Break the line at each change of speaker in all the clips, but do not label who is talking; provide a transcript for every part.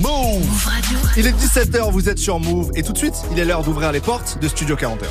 Move Radio. Il est 17h, vous êtes sur Move et tout de suite, il est l'heure d'ouvrir les portes de Studio 41.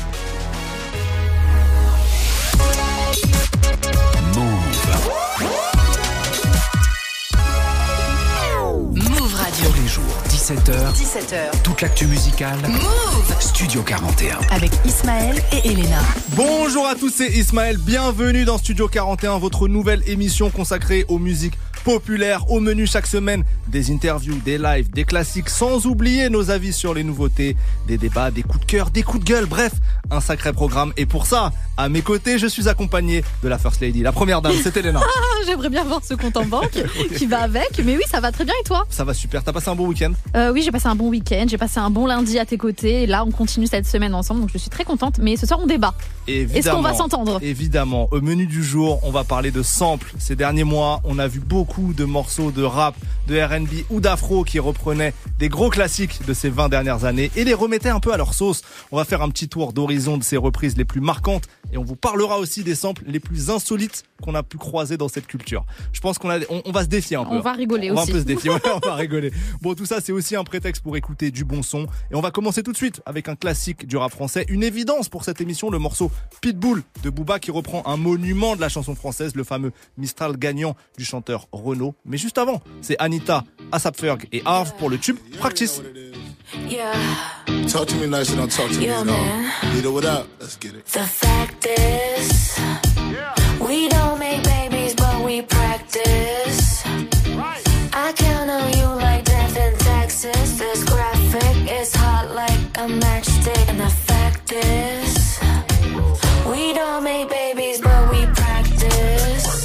Move Radio. Tous les jours, 17h. Toute l'actu musicale. Move Studio 41.
Avec Ismaël et Elena.
Bonjour à tous, c'est Ismaël. Bienvenue dans Studio 41, votre nouvelle émission consacrée aux musiques populaires. Au menu chaque semaine, des interviews, des lives, des classiques, sans oublier nos avis sur les nouveautés, des débats, des coups de cœur, des coups de gueule. Bref, un sacré programme. Et pour ça, à mes côtés, je suis accompagné de la First Lady, la première dame, c'est Elena.
J'aimerais bien voir ce compte en banque qui va avec. Mais oui, ça va très bien et toi ?
Ça va super. T'as passé un bon week-end ?
Oui, j'ai passé un bon week-end. J'ai passé un bon lundi à tes côtés. Et là, on continue cette semaine ensemble. Donc, je suis très contente. Mais ce soir, on débat.
Évidemment,
est-ce qu'on va s'entendre ?
Évidemment. Au menu du jour, on va parler de samples. Ces derniers mois, on a vu beaucoup de morceaux de rap, de R&B ou d'afro qui reprenaient des gros classiques de ces 20 dernières années et les remettaient un peu à leur sauce. On va faire un petit tour d'horizon de ces reprises les plus marquantes et on vous parlera aussi des samples les plus insolites qu'on a pu croiser dans cette culture. Je pense qu'on va se défier un peu.
On va rigoler aussi.
On va un peu se défier, ouais, on va rigoler. Bon, tout ça, c'est aussi un prétexte pour écouter du bon son. Et on va commencer tout de suite avec un classique du rap français. Une évidence pour cette émission, le morceau Pitbull de Booba qui reprend un monument de la chanson française, le fameux Mistral gagnant du chanteur Renaud. Mais juste avant, c'est Anita, A$AP Ferg et Harv pour le tube Practice.
Yeah.
Talk to me nice and don't talk to me at all. Lead it without. Let's get it.
The fact is, we don't make babies, but we practice. I count on you like death in Texas. This graphic is hot like a matchstick. And the fact is, we don't make babies, but we practice.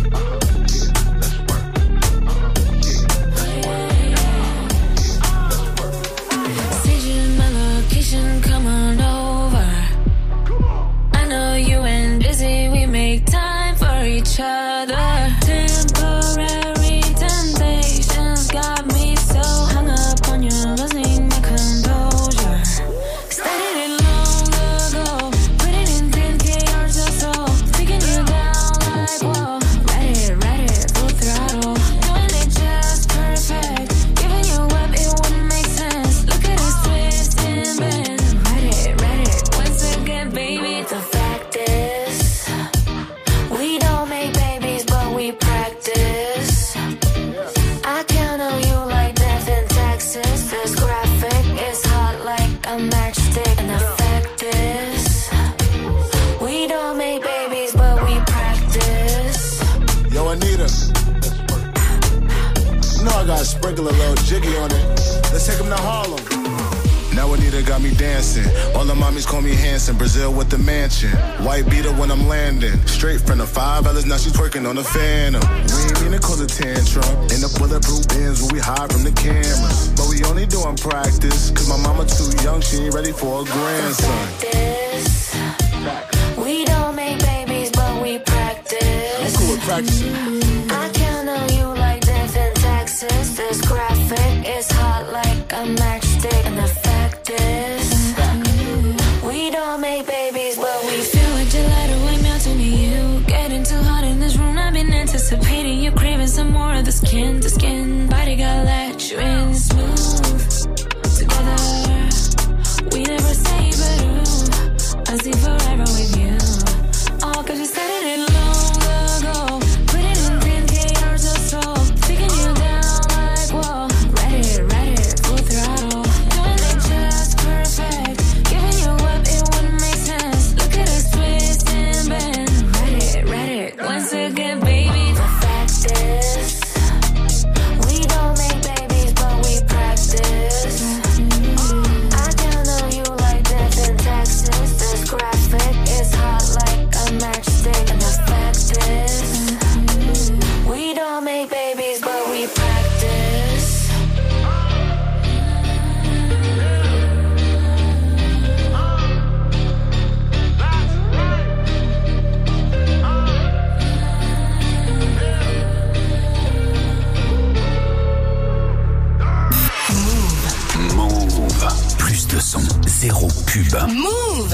Come on over. I know you ain't busy, we make time for each other. Temporary temptations got me so hung up on you, losing my composure. Started it long ago, put it in 10K hours or so, taking you down like whoa. Ride it, full throttle, doing it just perfect. Giving you up, it wouldn't make sense. Look at us twist and bend. Baby, the fact is, we don't make babies, but we practice. I count on you like death in Texas. This graphic is hot like a matchstick. And the fact is, we don't make babies, but we practice.
Yo, Anita, you know I gotta sprinkle a little jiggy on it. Let's take him to Harlem. Now Anita got me dancing. All the mommies call me Hanson. Brazil with the mansion. White beater when I'm landing. Straight from the $5, now she's twerking on the Phantom. We ain't mean to cause a tantrum. In the bulletproof bins when we hide from the cameras. But we only doing practice. Cause my mama too young, she ain't ready for a grandson.
This, we don't make babies, but we practice.
I'm cool with practicing.
I count on you like death in Texas. This graphic is hot like a matchstick. And the fact is, we don't make babies, but we feel like gelato. I'm melting to you. Getting too hot in this room. I've been anticipating you craving some more of the skin to skin. Body got let you in smooth. Together, we never say but ooh. I'll see forever with you. All cause you started it long ago. Put it in 10K hours or so. Taking you down like whoa. Ride it, full throttle. Doing it just perfect. Giving you up, it wouldn't make sense. Look at us twist and bend. Ride it, once again, baby. The fact is, we don't make babies, but we practice. I count on you like death in Texas. This graphic is hot like a matchstick. And the fact is, we don't make babies, but we practice.
Move. Plus de son, zéro pub.
Move.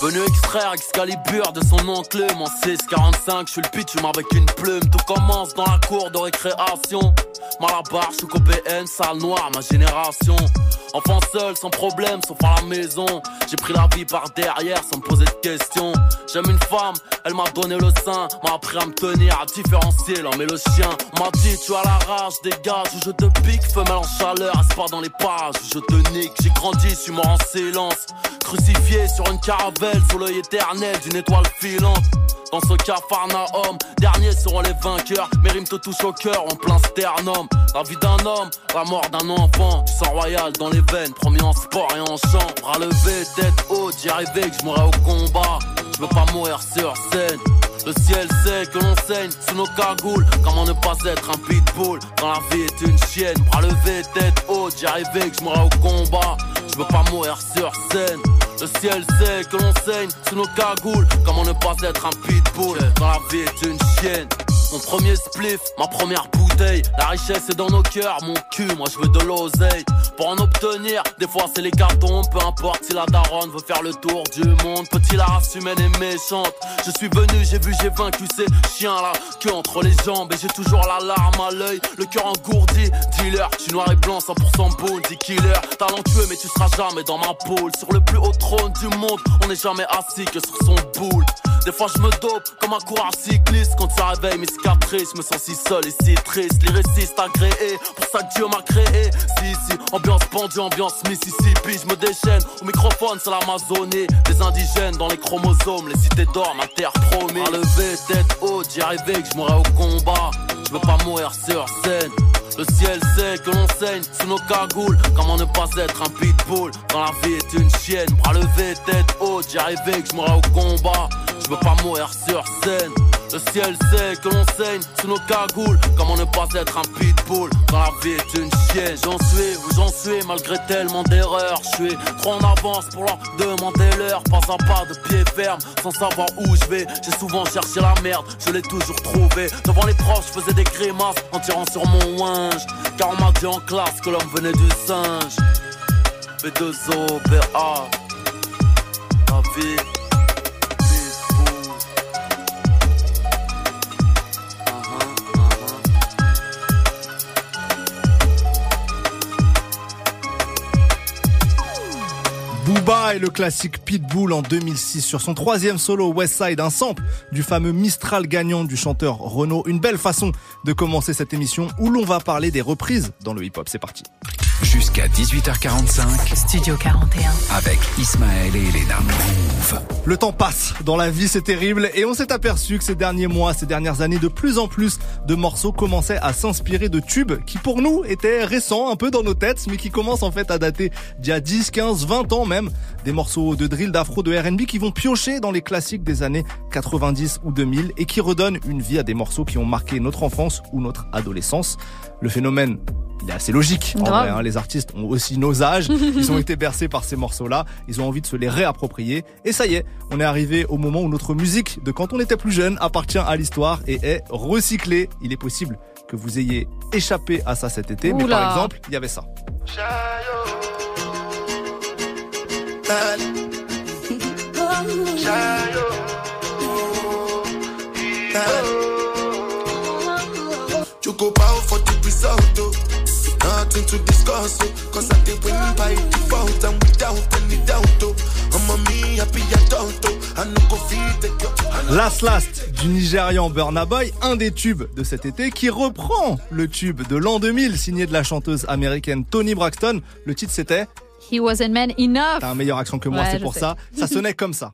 Venu extraire Excalibur de son oncle en 645, je suis le pitch avec une plume. Tout commence dans la cour de récréation. Malabar, je suis BN, salle noire, ma génération. Enfant seul, sans problème, sauf à la maison. J'ai pris la vie par derrière sans me poser de questions. J'aime une femme, elle m'a donné le sein. M'a appris à me tenir, à différencier l'homme et le chien. On m'a dit tu as la rage, dégage, ou je te pique. Femelle en chaleur, reste pas dans les pages, ou je te nique. J'ai grandi, je suis mort en silence. Crucifié sur une caravelle, sous l'œil éternel d'une étoile filante. Dans ce Capharnaüm, derniers seront les vainqueurs. Mes rimes te touchent au cœur en plein sternum. La vie d'un homme, la mort d'un enfant. Du sang royal dans les veines, promis en sport et en chant. Bras levés, tête haute, j'y arrivais que je mourrais au combat. Je veux pas mourir sur scène. Le ciel sait que l'on saigne sous nos cagoules. Comment ne pas être un pitbull quand la vie est une chienne. Bras levés, tête haute, j'y arrivais que je mourrais au combat. Je veux pas mourir sur scène. Le ciel sait que l'on saigne sous nos cagoules. Comment ne pas être un pitbull quand la vie est une chienne. Mon premier spliff, ma première bouteille. La richesse est dans nos cœurs, mon cul, moi je veux de l'oseille. Pour en obtenir, des fois c'est les cartons. Peu importe si la daronne veut faire le tour du monde. Petit, la race humaine est méchante. Je suis venu, j'ai vu, j'ai vaincu ces chiens-là. Que entre les jambes et j'ai toujours la larme à l'œil. Le cœur engourdi, dealer. Je suis noir et blanc, 100% bounty killer. Talentueux mais tu seras jamais dans ma poule. Sur le plus haut trône du monde, on n'est jamais assis que sur son boule. Des fois je me dope comme un coureur cycliste. Quand ça réveille mes cicatrices, je me sens si seul et si triste. Lyriciste agréé, pour ça que Dieu m'a créé. Si, ambiance pendue, ambiance Mississippi. Je me déchaîne, au microphone c'est l'Amazonie. Des indigènes dans les chromosomes, les cités d'or, ma terre promise. À lever, tête haute, j'y arrivais que je mourrais au combat. Je veux pas mourir sur scène. Le ciel sait que l'on saigne sous nos cagoules. Comment ne pas être un pitbull quand la vie est une chienne. Bras levés, tête haute, j'y arrivais que je mourrais au combat. Je veux pas mourir sur scène. Le ciel sait que l'on saigne sous nos cagoules. Comment ne pas être un pitbull quand la vie est une chienne. J'en suis où j'en suis malgré tellement d'erreurs. Je suis trop en avance pour leur demander l'heure. Pas à pas de pied ferme sans savoir où je vais. J'ai souvent cherché la merde, je l'ai toujours trouvé. Devant les proches je faisais des grimaces en tirant sur mon winge. Car on m'a dit en classe que l'homme venait du singe. B2O, BA, la vie.
Booba et le classique Pitbull en 2006 sur son troisième solo Westside, un sample du fameux Mistral gagnant du chanteur Renaud. Une belle façon de commencer cette émission où l'on va parler des reprises dans le hip-hop. C'est parti.
Jusqu'à 18h45,
Studio 41.
avec Ismaël et Elena. Move.
Le temps passe, dans la vie c'est terrible et on s'est aperçu que ces derniers mois, ces dernières années, de plus en plus de morceaux commençaient à s'inspirer de tubes qui pour nous étaient récents un peu dans nos têtes mais qui commencent en fait à dater d'il y a 10, 15, 20 ans même. Des morceaux de drill, d'afro, de R&B qui vont piocher dans les classiques des années 90 ou 2000 et qui redonnent une vie à des morceaux qui ont marqué notre enfance ou notre adolescence. Le phénomène, il est assez logique. En vrai, hein, les artistes ont aussi nos âges. Ils ont été bercés par ces morceaux-là. Ils ont envie de se les réapproprier. Et ça y est, on est arrivé au moment où notre musique de quand on était plus jeune appartient à l'histoire et est recyclée. Il est possible que vous ayez échappé à ça cet été.
Oula.
Mais par exemple, il y avait ça.
Choco power for the result, nothing to discuss, cause I did win by default and without any doubt, I'm a me happy adult, I no go feed the girl.
Last du Nigérian Burna Boy, un des tubes de cet été qui reprend le tube de l'an 2000 signé de la chanteuse américaine Toni Braxton. Le titre c'était
He wasn't man enough.
T'as un meilleur accent que moi,
Ouais,
c'est
je
pour
sais.
ça. Ça sonnait comme ça.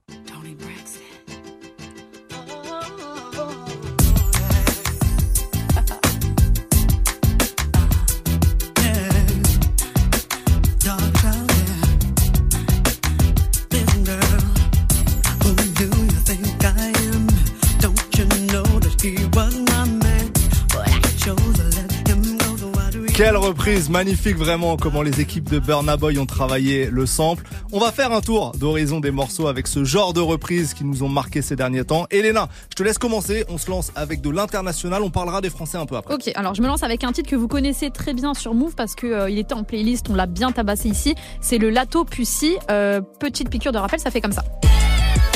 Quelle reprise magnifique vraiment, comment les équipes de Burna Boy ont travaillé le sample. On va faire un tour d'horizon des morceaux avec ce genre de reprises qui nous ont marqué ces derniers temps. Elena, je te laisse commencer, on se lance avec de l'international, on parlera des Français un peu après.
Ok, alors je me lance avec un titre que vous connaissez très bien sur Move parce que il était en playlist, on l'a bien tabassé ici. C'est le Lato Pussy. Petite piqûre de rappel, ça fait comme ça.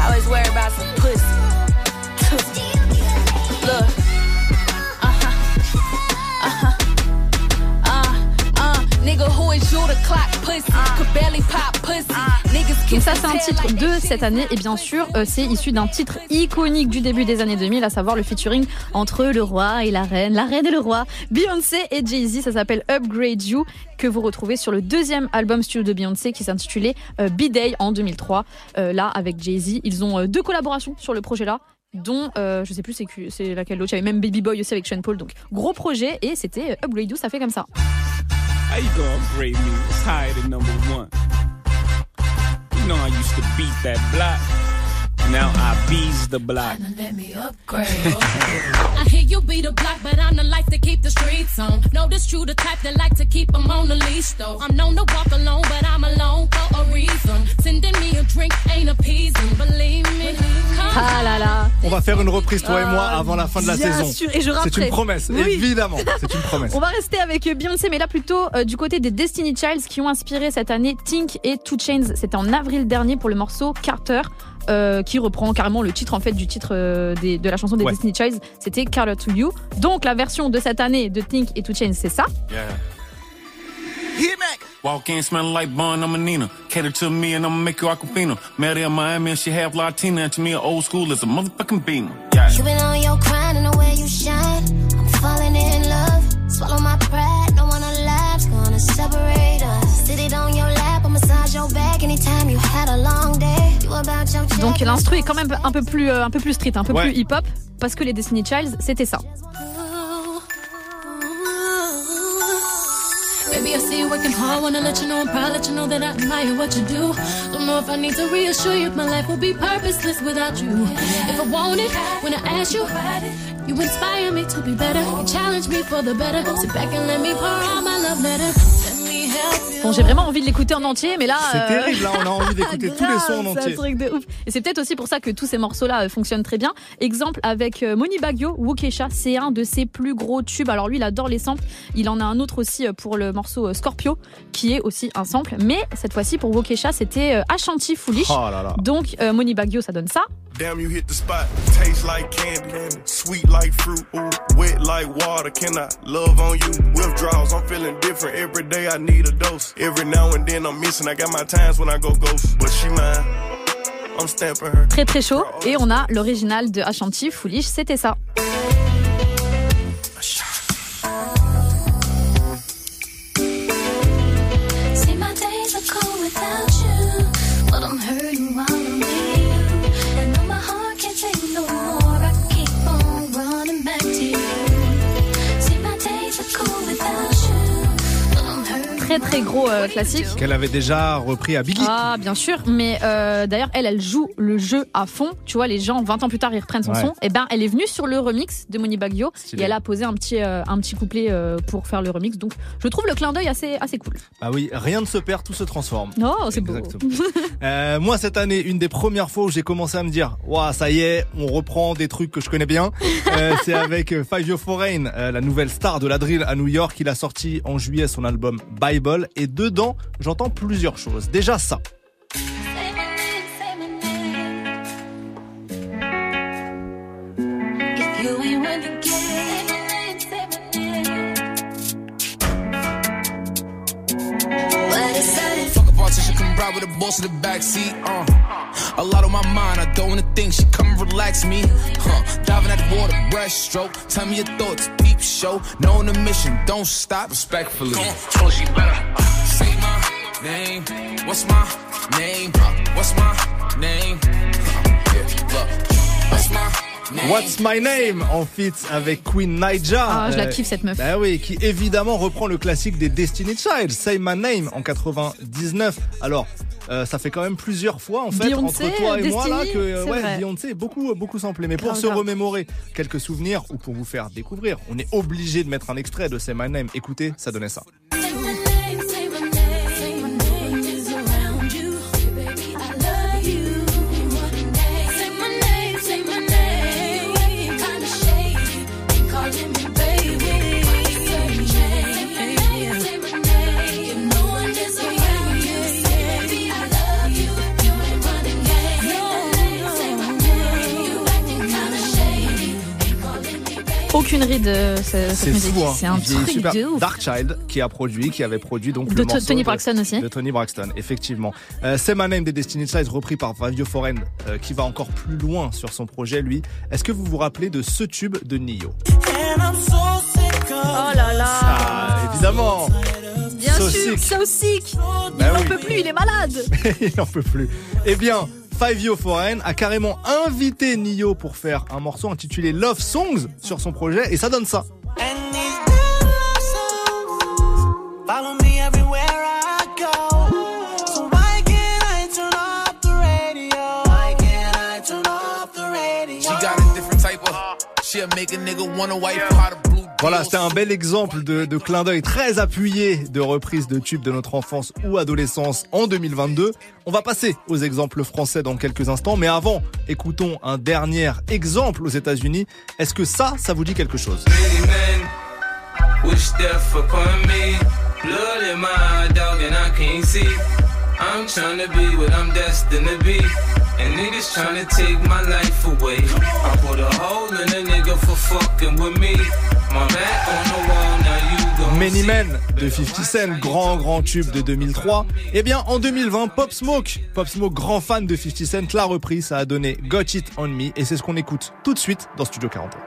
always worry about some pussy. Look. Nigga who is you the clock pussy. Could barely pop pussy.
Donc ça c'est un titre de cette année et bien sûr c'est issu d'un titre iconique du début des années 2000, à savoir le featuring entre le roi et la reine et le roi, Beyoncé et Jay-Z. Ça s'appelle Upgrade You, que vous retrouvez sur le deuxième album studio de Beyoncé qui s'intitulait B-Day en 2003. Là avec Jay-Z, ils ont 2 collaborations sur le projet là, dont je sais plus c'est laquelle l'autre. Il y avait même Baby Boy aussi avec Sean Paul, donc gros projet, et c'était Upgrade You, ça fait comme ça.
How you gonna upgrade me? It's higher than number one. You know I used to beat that block. Now I bees the block.
Let me upgrade. I hear you beat the block, but I'm the life to keep the streets on. No, this true, the type that like to keep them on the leash, though. I'm known to walk alone, but I'm alone for a reason. Sending me a drink ain't appeasing, believe me.
Ah là là.
On va faire une reprise, toi et moi, avant la fin de la
bien
saison.
Sûr, et je
c'est une promesse, oui. Évidemment. C'est une promesse.
On va rester avec Beyoncé, mais là plutôt du côté des Destiny Childs qui ont inspiré cette année Tink et 2 Chainz. C'était en avril dernier pour le morceau Carter. Qui reprend carrément le titre en fait du titre de la chanson des Destiny Childs, c'était Carter to You. Donc la version de cette année de Tink et 2 Chainz, c'est ça.
Walk in smelling like Bun, I'm a Nina. Cater to me and I'ma make you Aquafina. Met her in Miami and she half Latina. And to me, old school is a motherfucking beamer. Yeah.
You been on your grind and the way you shine. I'm falling in love. Swallow my pride. No one alive's gonna separate us. Sit it on your lap, I'll massage your back anytime you had a long day. You about your check.
Donc l'instru est quand même un peu plus street, un peu plus hip-hop, parce que les Destiny Childs, c'était ça.
Baby, I see you working hard, wanna let you know I'm proud, let you know that I admire what you do. Don't know if I need to reassure you, my life will be purposeless without you. If I want it, when I ask you, you inspire me to be better, you challenge me for the better. Sit back and let me pour out my love letter.
Bon, j'ai vraiment envie de l'écouter en entier, mais là...
C'est terrible, là, on a envie d'écouter tous les sons en entier.
C'est un truc de ouf. Et c'est peut-être aussi pour ça que tous ces morceaux-là fonctionnent très bien. Exemple avec Moni Baggio, Wokesha, c'est un de ses plus gros tubes. Alors lui, il adore les samples. Il en a un autre aussi pour le morceau Scorpio, qui est aussi un sample. Mais cette fois-ci, pour Wokesha, c'était Ashanti Foolish.
Oh là là.
Donc Moni Baggio, ça donne ça.
Damn, you hit the spot. Taste like candy, sweet like fruit, ooh, wet like water. Can I love on you? Withdrawals, I'm feeling different. Every day I need a dose. Every now and then I'm missing. I got my times when I go ghost, but she mine. I'm stamping her.
Très très chaud. Et on a l'original de Ashanti Foolish, c'était ça.
See, my days are cold without you, but I'm hurting while I'm with you. And though my heart can't take no more, I keep on running back to you. See, my days are cold without you, but I'm hurting.
Très très gros classique.
Qu'elle avait déjà repris à Biggie.
Ah bien sûr, mais d'ailleurs elle joue le jeu à fond. Tu vois, les gens 20 ans plus tard ils reprennent son son. Et ben elle est venue sur le remix de Moni Baggio et elle a posé un petit couplet pour faire le remix. Donc je trouve le clin d'œil assez cool.
Ah oui, rien ne se perd, tout se transforme.
Non, c'est beau.
Moi cette année, une des premières fois où j'ai commencé à me dire, waouh, ça y est, on reprend des trucs que je connais bien. C'est avec Five Yo Foreign, la nouvelle star de la drill à New York. Il a sorti en juillet son album Bible et dedans, j'entends plusieurs choses. Déjà ça.
With the boss in the backseat, a lot on my mind, I don't wanna think. She come and relax me, diving at the water, breaststroke. Tell me your thoughts, peep show. Knowing the mission, don't stop. Respectfully, come on, she better say my name. What's my name? What's my name? Look, what's my name?
What's My Name en feat avec Queen Naija.
Ah, je la kiffe cette meuf.
Bah oui, qui évidemment reprend le classique des Destiny Child, Say My Name en 99. Alors, ça fait quand même plusieurs fois en fait
Beyoncé,
entre toi et
Destiny,
moi là que
vrai.
Beyoncé est beaucoup samplé. Mais pour
grave,
se remémorer quelques souvenirs ou pour vous faire découvrir, on est obligé de mettre un extrait de Say My Name. Écoutez, ça donnait ça.
aucune ride cette
C'est
musique.
fou, hein.
C'est un
Il est
truc
super.
de ouf.
Darkchild qui avait produit donc
De
le morceau
Tony Braxton aussi.
De Tony Braxton, effectivement. Say My Name des Destiny's Child repris par Fivio Foreign qui va encore plus loin sur son projet lui. Est-ce que vous vous rappelez de ce tube de Nio?
Oh là là.
Ah, évidemment.
Bien
So
sûr,
sick.
So Sick.
Bah
Il n'en
oui.
peut plus, il est malade.
Il n'en peut plus. Eh bien, Fivio Foreign a carrément invité Nio pour faire un morceau intitulé Love Songs sur son projet et ça donne ça.
Follow me everywhere I go. So why can't I turn off the radio? Why can't I turn off the radio?
She got a different type of. She'll make a nigga wanna wipe how the blue.
Voilà, c'était un bel exemple de clin d'œil très appuyé de reprise de tubes de notre enfance ou adolescence en 2022. On va passer aux exemples français dans quelques instants, mais avant, écoutons un dernier exemple aux États-Unis. Est-ce que ça vous dit quelque chose?
Wish death upon me. Blood in my eye, dog, and I can't see. I'm trying to be what I'm destined to be. And niggas trying to take my life away. I put a hole in a nigga for fucking with me. My back on the wall, now you gon'
Many
see.
Men de 50 Cent, grand tube de 2003. Eh bien, en 2020, Pop Smoke, grand fan de 50 Cent, l'a repris. Ça a donné Got It On Me. Et c'est ce qu'on écoute tout de suite dans Studio 41.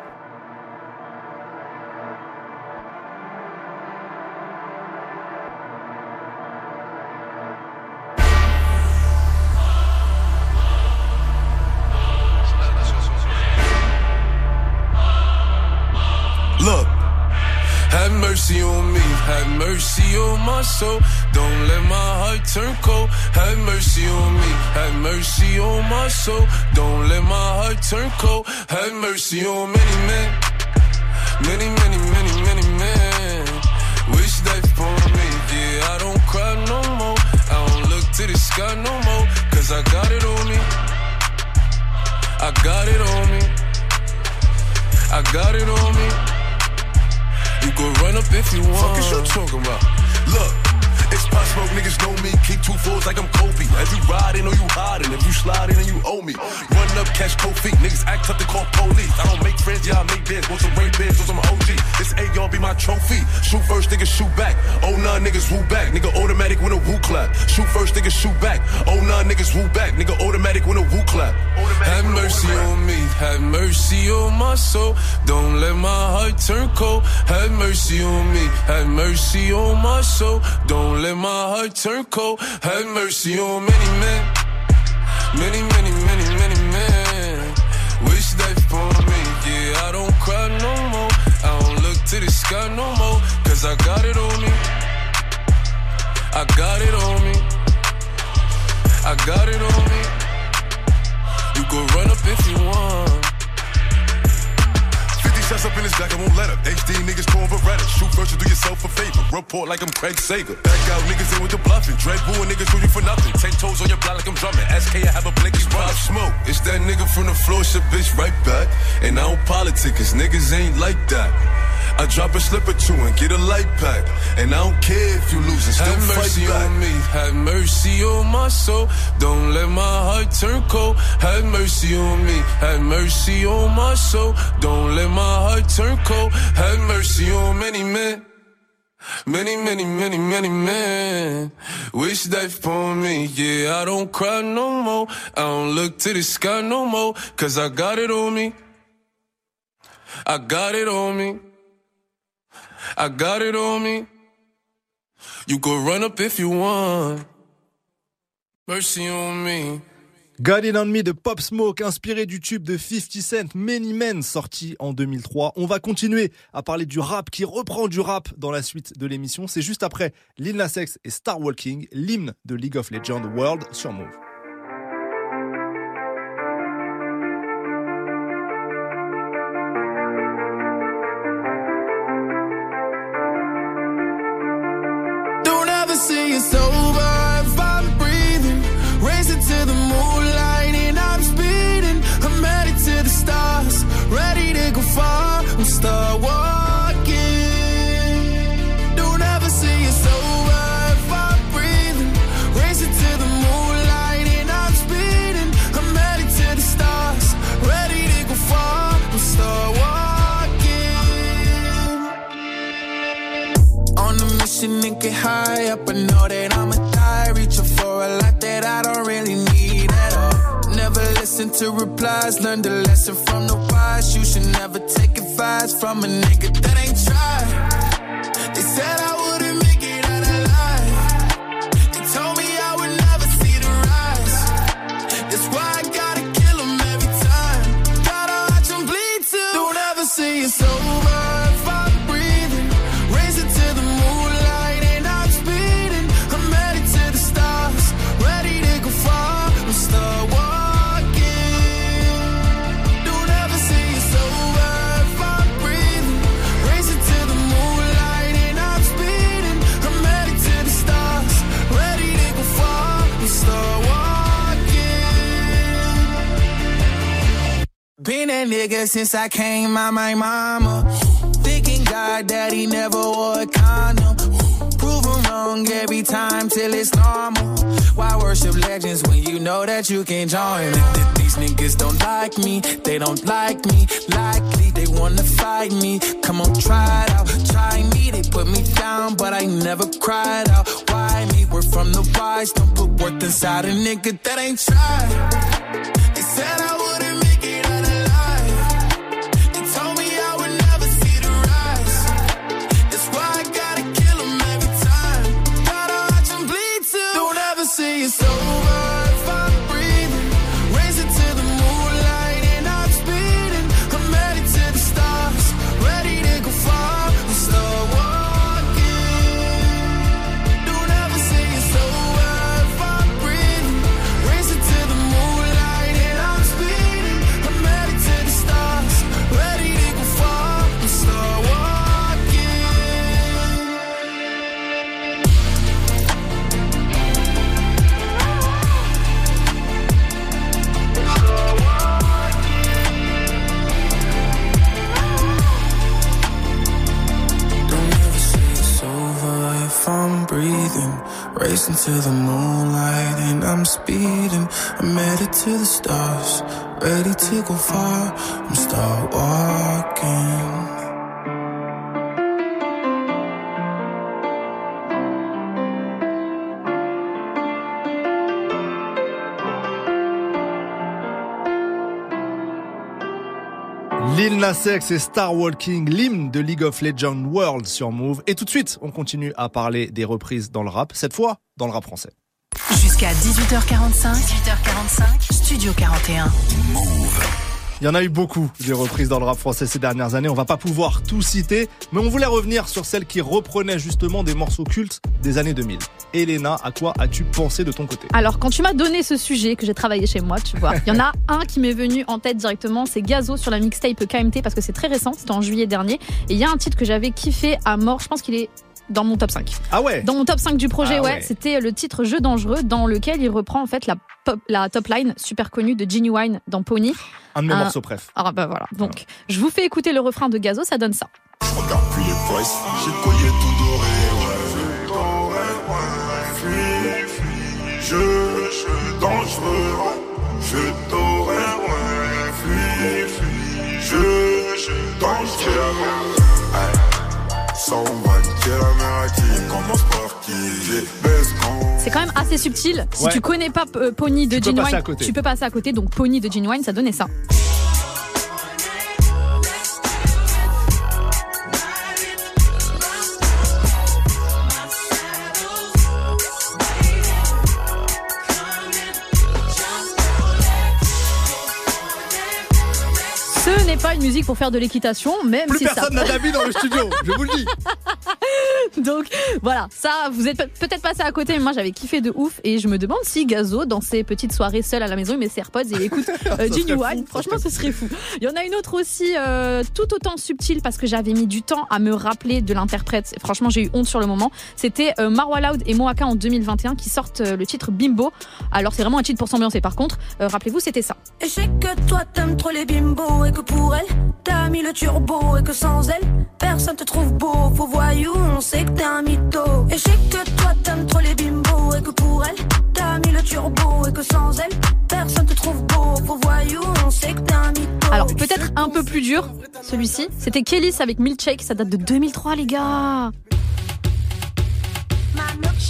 Look, have mercy on me, have mercy on my soul. Don't let my heart turn cold. Have mercy on me, have mercy on my soul. Don't let my heart turn cold. Have mercy on many men, many men. Wish that for me, yeah, I don't cry no more. I don't look to the sky no more, cause I got it on me. I got it on me. I got it on me. You can run up if you want. Fuck is you talking about? Look, it's Pop Smoke, niggas know me. Keep 2 4s like I'm Kobe. If you riding or you hiding, if you sliding and you owe me. Run up, catch cold feet. Niggas act tough to call police. I don't make friends, yeah, I make bands. Want some rain bands, want some OG. This AR be my trophy. Shoot first, niggas shoot back. Oh, nah, niggas woo back. Nigga automatic when a woo clap. Shoot first, niggas shoot back. Oh, nah, niggas woo back. Nigga automatic when a woo clap. Have mercy on me, have mercy on my soul. Don't let my heart turn cold. Have mercy on me, have mercy on my soul. Don't let my heart turn cold. Have mercy on many men, many men. Wish that for me, yeah, I don't cry no more. I don't look to the sky no more, cause I got it on me. I got it on me. I got it on me. You can run up if you want. 50 shots up in his back, I won't let up. HD niggas pouring Beretta. Shoot first, you do yourself a favor. Report like I'm Craig Sager. Back out niggas in with the bluffing. Dread boo and niggas do you for nothing. 10 toes on your block like I'm drumming. SK, I have a blinky Pop Smoke. It's that nigga from the floor, shit bitch right back. And I don't politic, cause niggas ain't like that. I drop a slip or 2 and get a light pack. And I don't care if you lose and still
Have
fight
mercy
back.
on
me, have mercy on my soul. Don't let my heart turn cold. Have mercy on me, have mercy on my soul. Don't let my heart turn cold. Have mercy on many men. Many men. Wish that for me, yeah, I don't cry no more. I don't look to the sky no more, cause I got it on me. I got it on me. I got it on me. You can run up if you want. Mercy on me.
Got It On Me de Pop Smoke, inspiré du tube de 50 Cent, Many Men, sorti en 2003. On va continuer à parler du rap qui reprend du rap dans la suite de l'émission. C'est juste après Lil Nas X et Star Walking, l'hymne de League of Legends World sur Move.
Don't ever see it's over if I'm breathing. Racing to the moonlight and I'm speeding. I'm headed to the stars, ready to go far. I'm start walking. Don't ever see it's over if I'm breathing. Racing to the moonlight and I'm speeding. I'm headed to the stars, ready to go far. I'm start walking. way up, I know that I'ma die. Reaching for a lot that I don't really need at all. Never listen to replies, learn the lesson from the wise. You should never take advice from a nigga that ain't tried. They said I wouldn't make it out alive. They told me I would never see the rise. That's why I gotta kill 'em every time. Gotta watch 'em bleed too. Don't ever say it's over if I'm breathing. Race it to the moonlight and I'm speeding. I'm headed to the stars, ready to go far. I'm start walking. Don't ever say it's over if I'm breathing. Race it to the moonlight and I'm speeding. I'm headed to the stars, ready to go far. I'm start walking. Been a nigga since I came out my mama. Thinking God that he never wore a condom. Proven wrong every time till it's normal. Why worship legends when you know that you can join? These niggas don't like me, they don't like me. Likely they wanna fight me. Come on, try it out, try me. They put me down, but I never cried out. Why me? We're from the wise, don't put worth inside a nigga that ain't tried. They said I wouldn't make it out alive. They told me I would never see the rise. That's why I gotta kill 'em every time. Gotta watch 'em bleed too. Don't ever say it's over if I'm breathing. Race it to the moonlight and I'm speeding. I'm headed to the stars, ready to go far. I'm start walking. Don't ever say it's over if I'm breathing. Race it to the moonlight and I'm speeding. I'm headed to the stars, ready to go far. I'm start walking. Don't ever say it's over if I'm breathing. Racing to the moonlight and I'm speeding. I'm headed to the stars, ready to go far. I'm start walking.
Lil Nas X et Star Walking, l'hymne de League of Legends World sur Move. Et tout de suite, on continue à parler des reprises dans le rap, cette fois dans le rap français.
Jusqu'à 18h45, Studio 41. Move.
Il y en a eu beaucoup des reprises dans le rap français ces dernières années, on va pas pouvoir tout citer, mais on voulait revenir sur celles qui reprenaient justement des morceaux cultes des années 2000. Elena, à quoi as-tu pensé de ton côté ?
Alors, quand tu m'as donné ce sujet que j'ai travaillé chez moi, tu vois, il y en a un qui m'est venu en tête directement, c'est Gazo sur la mixtape KMT, parce que c'est très récent, c'était en juillet dernier, et il y a un titre que j'avais kiffé à mort, je pense qu'il est dans mon top 5.
Ah ouais.
Dans mon top 5 du projet,
Ah
ouais,
ouais.
c'était le titre Jeu dangereux, dans lequel il reprend en fait la top line super connue de Genuine dans Pony.
Un de mes morceaux préf.
Ah bah voilà, donc je vous fais écouter le refrain de Gazo, ça donne ça.
Je regarde plus les boys, j'ai le collier tout doré, ouais. Je suis dangereux, je t'aurais, ouais. Je suis dangereux.
C'est quand même assez subtil. Si
Ouais.
tu connais pas Pony de
Tu peux passer
Genuine,
à côté.
tu peux passer à côté. Donc Pony de Genuine, ça donnait ça. Ce n'est pas une musique pour faire de l'équitation, même
Plus
si
personne
ça...
n'a d'habits dans le studio, je vous le dis.
Donc voilà, ça, vous êtes peut-être passé à côté, mais moi j'avais kiffé de ouf. Et je me demande si Gazo, dans ses petites soirées seul à la maison, il met ses AirPods et il écoute Genuine. Franchement, ce serait fou. Il y en a une autre aussi, tout autant subtile, parce que j'avais mis du temps à me rappeler de l'interprète. Et franchement, j'ai eu honte sur le moment. C'était Marwa Loud et Moaka en 2021 qui sortent le titre Bimbo. Alors c'est vraiment un titre pour s'ambiancer. Par contre, rappelez-vous, c'était ça.
Et je sais que toi t'aimes trop les bimbos et que pour elle t'as mis le turbo et que sans elle personne te trouve beau, faux voyou, on sait que t'es un mytho. Et je sais que toi t'aimes trop les bimbos et que pour elle t'as mis le turbo et que sans elle personne te trouve beau, faux voyou, on sait que t'es un mytho.
Alors peut-être un peu plus dur, celui-ci. C'était Kelly's avec Milkshake, ça date de 2003 les gars.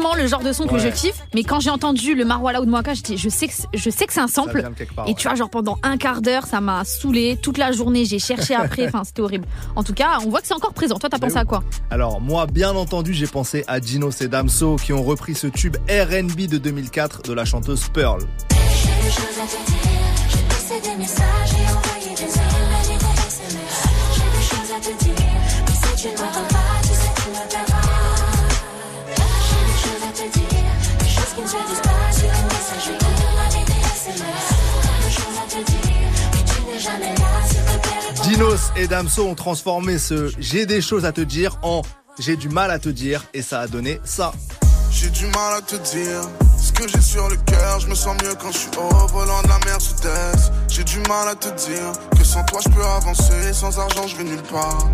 typiquement le genre de son que je kiffe, mais quand j'ai entendu le Marwa Loud Mwaka, je dis je sais que c'est un sample.
vient de quelque part,
Et tu vois, genre pendant un quart d'heure, ça m'a saoulé toute la journée. J'ai cherché après, enfin c'était horrible. En tout cas, on voit que c'est encore présent. Toi, t'as pensé à quoi?
Alors moi, bien entendu, j'ai pensé à Dinos et Damso qui ont repris ce tube R&B de 2004 de la chanteuse Pearl.
J'ai des choses à te dire, j'ai passé des messages et envoyé des emails et des SMS. J'ai des choses à te dire, mais si tu ne m'entends pas, tu sais que tu me verras. J'ai des choses à te dire, des choses qui ne se disent pas sur une messagerie avec des SMS. Des choses à te dire, mais tu n'es jamais là, s'il te plaît, réponds.
Dinos et Damso ont transformé ce « j'ai des choses à te dire » en « j'ai du mal à te dire » et ça a donné ça.
J'ai du mal à te dire ce que j'ai sur le cœur. Je me sens mieux quand je suis au volant de la Mercedes. J'ai du mal à te dire que sans toi je peux avancer. Sans argent je vais nulle part.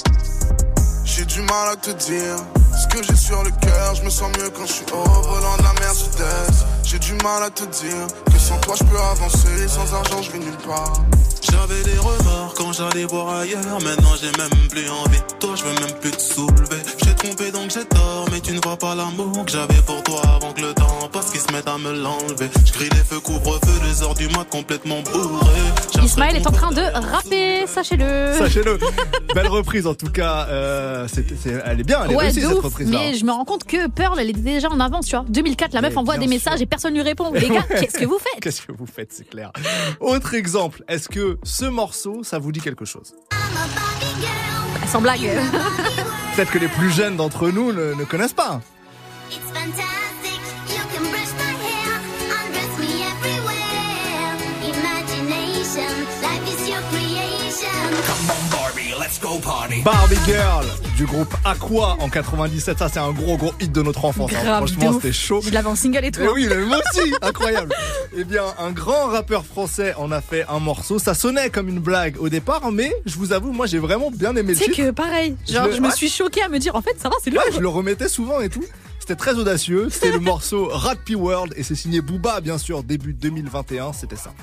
J'ai du mal à te dire ce que j'ai sur le cœur. Je me sens mieux quand je suis au volant de la Mercedes. J'ai du mal à te dire que sans toi je peux avancer. Sans argent je vais nulle part.
J'avais des remords quand j'allais voir ailleurs. Maintenant j'ai même plus envie de toi, je veux même plus te soulever. J'ai trompé donc j'ai tort, mais tu ne vois pas l'amour que j'avais pour toi avant que le temps passe, qu'ils se mettent à me l'enlever. Je crie les feux, couvre-feu, les heures du mat complètement bourré.
Ismaël est en train de rapper, sachez-le.
Sachez-le. Belle reprise en tout cas. Elle est bien, elle est réussie
de
cette
ouf,
reprise-là.
mais je me rends compte que Pearl, elle était déjà en avance, tu vois. 2004, la meuf envoie des messages et personne lui répond. Les gars, qu'est-ce que vous faites?
Qu'est-ce que vous faites, c'est clair. Autre exemple, est-ce que ce morceau, ça vous dit quelque chose?
Sans blague.
Peut-être que les plus jeunes d'entre nous ne connaissent pas.
It's fantastic, you can brush my hair, undress me everywhere. Imagination, life is your creation.
Come on Barbie, let's go party.
Barbie Girl du groupe Aqua en 97, ça c'est un gros hit de notre enfance. Hein.
Grave,
Franchement,
de ouf.
c'était chaud.
Je l'avais en single et tout.
Eh oui, mais moi aussi, incroyable. Eh bien, un grand rappeur français en a fait un morceau. Ça sonnait comme une blague au départ, mais je vous avoue, moi j'ai vraiment bien aimé le
Tu sais
titre.
que pareil, genre je me suis choquée à me dire en fait ça va, c'est lourd.
Ouais, je le remettais souvent et tout. C'était très audacieux. C'était le morceau Rat P World et c'est signé Booba, bien sûr, début 2021. C'était ça.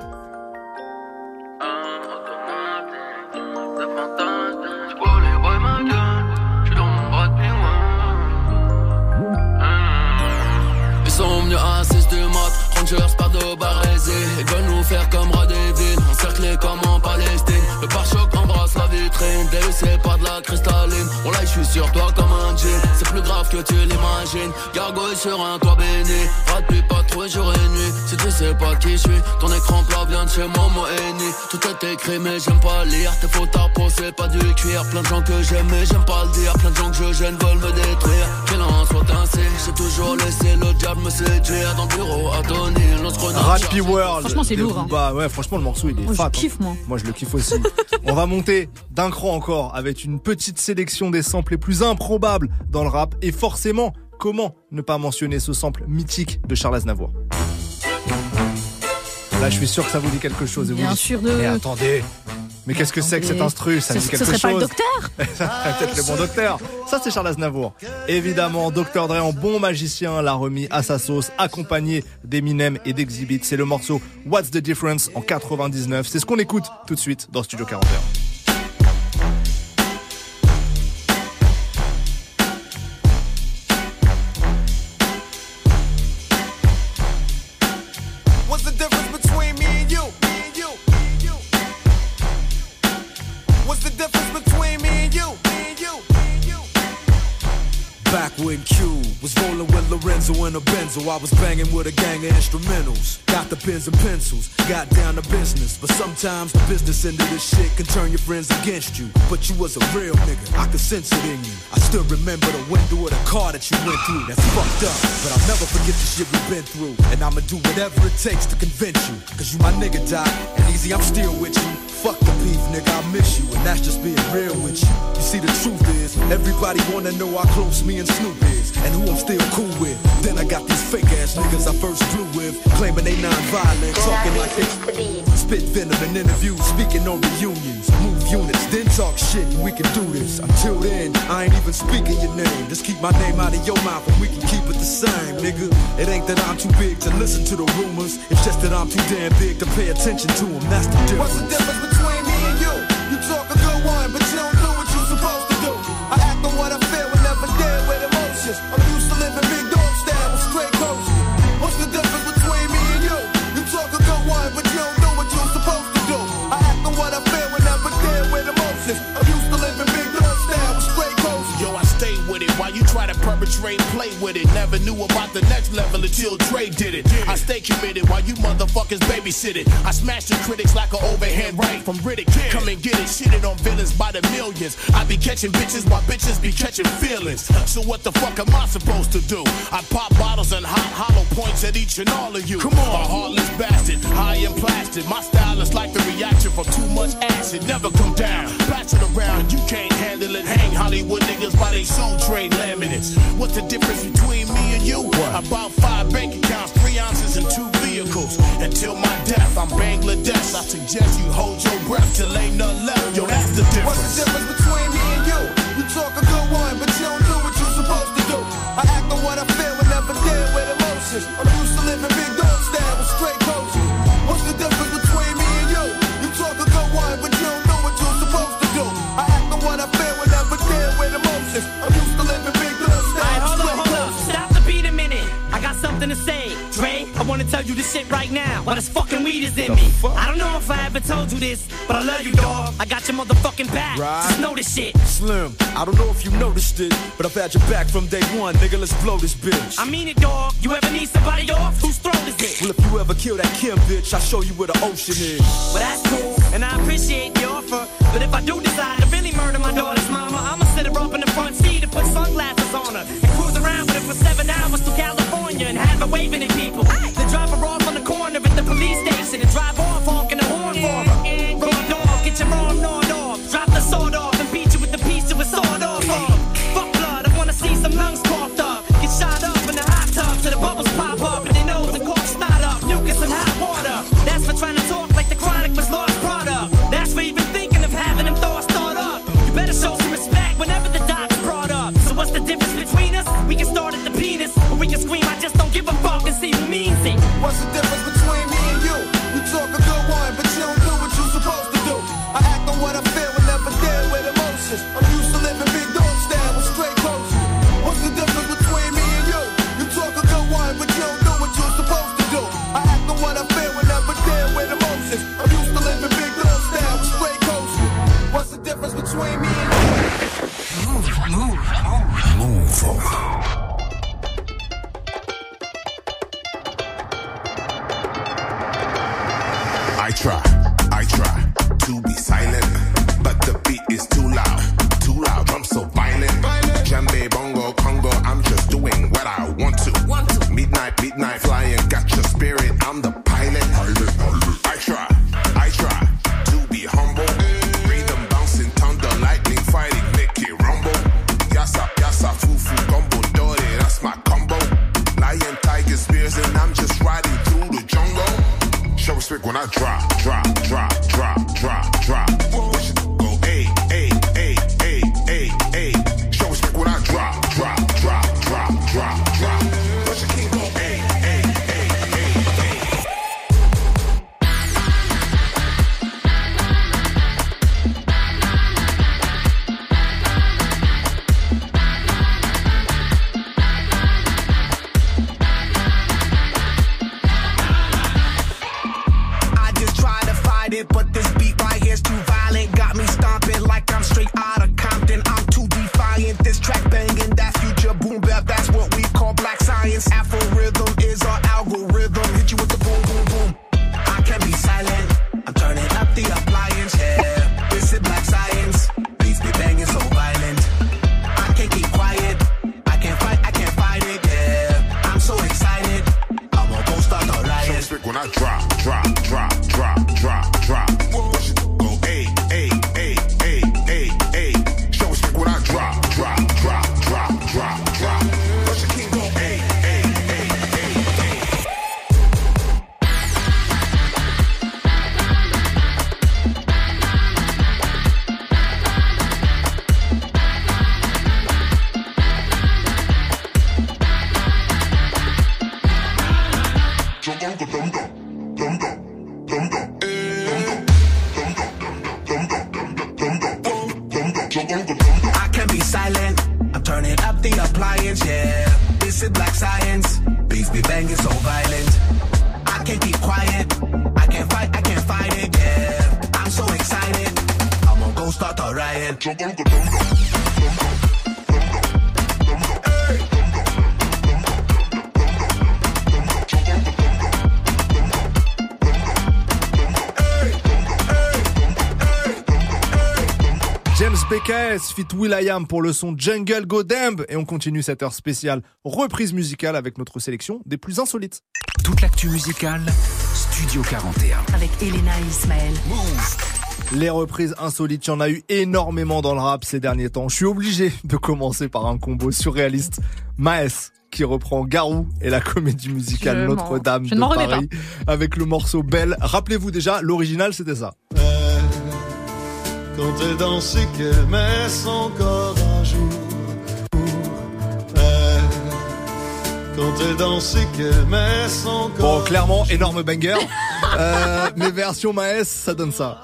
Ils sont venus à 6 du mat, Rangers pas de barésie. Ils veulent nous faire comme rats des villes, encerclés comme en Palestine. Le pare-choc embrasse la vitrine, délaissé pas de la cristalline. Oh là je suis sur toi comme un jean, c'est plus grave que tu l'imagines. Gargouille sur un toit béni, rate puis pas trop jour et nuit. Si tu sais pas qui je suis, ton écran plat vient de chez Momo Eni. Tout est écrit mais j'aime pas lire, tes fautes à peau c'est pas du cuir. Plein de gens que j'aime mais j'aime pas le dire, plein de gens que je gêne veulent me détruire. Qu'il en soit ainsi, j'ai toujours laissé le diable me séduire. Dans le bureau à Tony,
Rat P World.
Franchement, c'est lourd, hein.
Bah ouais, franchement le morceau il est
Moi,
fat.
je kiffe, moi.
Moi je le kiffe aussi. On va monter d'un cran encore avec une petite sélection des samples les plus improbables dans le rap et forcément, comment ne pas mentionner ce sample mythique de Charles Aznavour. Là, je suis sûr que ça vous dit quelque chose. Et
Bien
vous
sûr
Mais attendez, mais qu'est-ce que c'est que cet instru? Ça me dit quelque chose.
Ce serait pas le docteur?
Ça serait peut-être le bon docteur. Ça, c'est Charles Aznavour. Évidemment, Dr. Dre en bon magicien l'a remis à sa sauce, accompagné d'Eminem et d'Exhibit. C'est le morceau What's the Difference en 99. C'est ce qu'on écoute tout de suite dans Studio 41.
What's the difference between me and you? What's the difference between me and you?
Back when Q was rolling with Lorenzo and a Benzo, I was banging with a gang of instrumentals. Got the pens and pencils, got down to business. But sometimes the business end of this shit can turn your friends against you. But you was a real nigga, I could sense it in you. I still remember the window of the car that you went through. That's fucked up, but I'll never forget the shit we've been through. And I'ma do whatever it takes to convince you. Cause you my nigga, Doc, and easy, I'm still with you. Fuck the beef, nigga, I miss you, and that's just being real with you. You see, the truth is, everybody wanna know how close me and Snoop is, and who I'm still cool with. Then I got these fake ass niggas I first flew with, claiming they non-violent, talking like they spit venom in interviews, speaking on reunions, move units, then talk shit, and we can do this. Until then, I ain't even speaking your name. Just keep my name out of your mouth, and we can keep it the same, nigga. It ain't that I'm too big to listen to the rumors, it's just that I'm too damn big to pay attention to them. That's the difference.
What's the difference between me and you? You talk a good one, but you don't do what you're supposed to do. I act on what I feel and never deal with emotions. I'm used to living big dog
Average Ray played with it. Never knew about the next level until Dre did it. I stay committed while you motherfuckers babysit it. I smash the critics like an overhand right from Riddick. Come and get it, shitted on villains by the millions. I be catching bitches while bitches be catching feelings. So what the fuck am I supposed to do? I pop bottles and hot hollow points at each and all of you. Come on, a heartless bastard, high and plastic. My style is like the reaction from too much acid. Never come down, pass it around. You can't handle it. Hang Hollywood niggas by they soul trade laminates. What's the difference between me and you? About 5 bank accounts, 3 ounces and 2 vehicles. Until my death, I'm Bangladesh. I suggest you hold your breath till ain't nothing left. Yo, that's the difference.
What's the difference between me and you? You talk a good one, but you don't do what you're supposed to do. I act on what I feel and never deal with emotions. I'm used to living big dog style with straight coaches. What's the difference between me and you? You talk a good one, but you don't do what you're supposed to do. I act on what I feel and never deal with emotions. I'm used to living big dog style with straight coaches.
Stop the beat a minute. I got something to say. Dre, I wanna tell you this shit right now. While this fucking weed is in me. I don't know if I ever told you this, but I love you, dog. I got your motherfucking back.
Right.
Just know this shit.
Slim, I don't know if you noticed it, but I've had your back from day one. Nigga, let's blow this bitch.
I mean it, dog. You ever need somebody off? Whose throat is it?
Well, if you ever kill that Kim bitch, I'll show you where the ocean is.
Well, that's cool, and I appreciate the offer. But if I do decide to really murder my daughter's mama, I'ma sit her up in the front seat and put sunglasses on her and cruise around with her for 7 hours to California and have her waving at people. Then drop her off on the corner at the police station and drive off honking the horn for her. Raw dog, get your arm gnawed off. Drop the sword off and beat you with the piece of a sword off. Fuck blood, I wanna see some lungs coughed up. Get shot up in the hot tub till the bubbles pop up and they nose and cork snot up. Mucus and hot water. That's for trying to talk like the Chronic was lost product. That's for even thinking of having them thoughts thought up. You better show some respect whenever the doc's brought up. So what's the difference between us? We can start at the penis, or we can scream, I just don't give a fuck and see who means it.
What's the difference between me and you? You talk a good one, but you don't do what you're supposed to do. I act on what I feel and never deal with emotions. I'm used to living big dog style with straight coaches. What's the difference between me and you? You talk a good one, but you don't do what you're supposed to do. I act on what I feel and never deal with emotions. I'm used to living big dog style with straight coaches. What's the difference between me and you?
Move. I try to be silent, but the beat is too loud, I'm so violent. Djembe, bongo, Congo, I'm just doing what I want to. Midnight flying, got your spirit, I'm the pilot. I try to be humble. Rhythm bouncing, thunder, lightning fighting, make it rumble. Yassa, fufu, gumbo, dore, that's my combo. Lion, tiger, spears, and I'm just riding through the jungle. Show respect when I drop. Watch it go, ay. Show respect when I drop. Watch it keep go, ay.
I just try to fight it, but this beat right here's too violent. Got me stomping like I'm straight out of Compton. I'm too defiant. This track banging, that future boom bap. That's what we call black science. Afro rhythm is our algorithm. Hit you with the boom, boom, boom. I can't be silent. I'm turning up the appliance. Yeah, this is black science. Beats be banging so violent. I can't keep quiet. I can't fight it. Yeah, I'm so excited. I won't go start the riot.
Show respect when I drop. Watch it go, ay. Show respect when I drop. Watch it keep go, ay.
I can't be silent. I'm turning up the appliance, yeah. This is black science. Beats be banging so violent. I can't keep quiet. I can't fight it, yeah. I'm so excited. I'm gonna go start a riot.
Hey.
DKS fit will.i.am pour le son Jungle Go Damn. Et on continue cette heure spéciale reprise musicale avec notre sélection des plus insolites.
Toute l'actu musicale, Studio 41.
Avec Elena et Ismaël.
Les reprises insolites, il y en a eu énormément dans le rap ces derniers temps. Je suis obligé de commencer par un combo surréaliste. Maes qui reprend Garou et la comédie musicale Notre-Dame de Paris avec le morceau Belle. Rappelez-vous déjà, l'original c'était ça.
Quand t'es dans ce qu'elle met son corps à jour. Quand t'es dans ce qu'elle met son corps.
Bon, clairement, énorme banger. Mais version Maes, ça donne ça.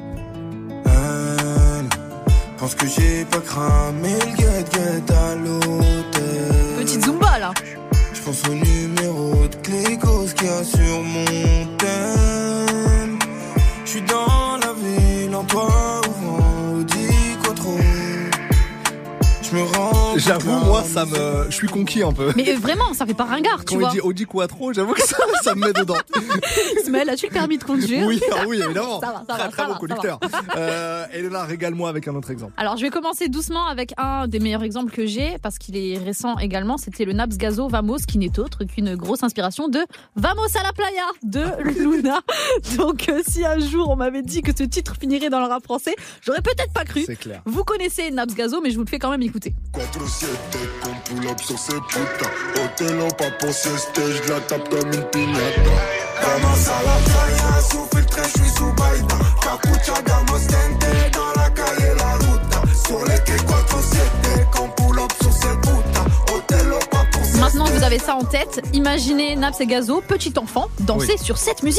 Pense que j'ai pas cramé le guet-guet à l'hôtel.
Petite Zumba là.
Je pense au numéro de Clécos qu'il y a sur mon thème. Je suis dans la ville en toit ouvrant Audi Quattro. Je me rends.
J'avoue, moi, je suis conquis un peu.
Mais vraiment, ça fait pas ringard, tu vois.
Quand il dit Audi Quattro, j'avoue que ça me met dedans.
Ismaël, as-tu le permis de conduire?
Oui, évidemment.
Ça va,
très bon conducteur. Elena, régale-moi avec un autre exemple.
Alors, je vais commencer doucement avec un des meilleurs exemples que j'ai, parce qu'il est récent également. C'était le Naps Gazo Vamos, qui n'est autre qu'une grosse inspiration de Vamos a la playa de Luna. Donc, si un jour on m'avait dit que ce titre finirait dans le rap français, j'aurais peut-être pas cru.
C'est clair.
Vous connaissez Naps Gazo, mais je vous le fais quand même écouter.
4-7 qu'on pull up sur ces putains. Hôtel en pas pour sieste, je la tape comme une piñata. Vamos à la playa, sous filtre, je suis sous baïda. Capucha, damos tente, dans la calle la ruta. Sur les quais 4-7 qu'on pull up sur ces putains. Hôtel en pas pour sieste.
Maintenant que vous avez ça en tête, imaginez Naps et Gazo, petit enfant, danser sur cette musique.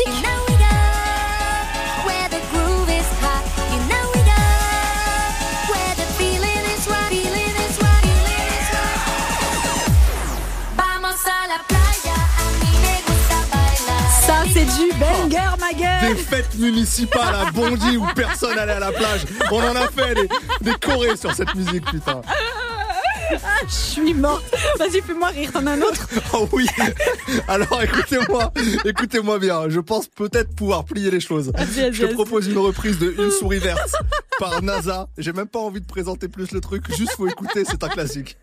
Ça, c'est du banger, ma gueule.
Des fêtes municipales à Bondy où personne allait à la plage. On en a fait des chorés sur cette musique, putain.
Ah, je suis morte. Vas-y, fais-moi rire, t'en as un autre?
Oh oui. Alors écoutez-moi bien. Je pense peut-être pouvoir plier les choses. Je te propose une reprise de Une souris verte par NASA. J'ai même pas envie de présenter plus le truc. Juste faut écouter, c'est un classique.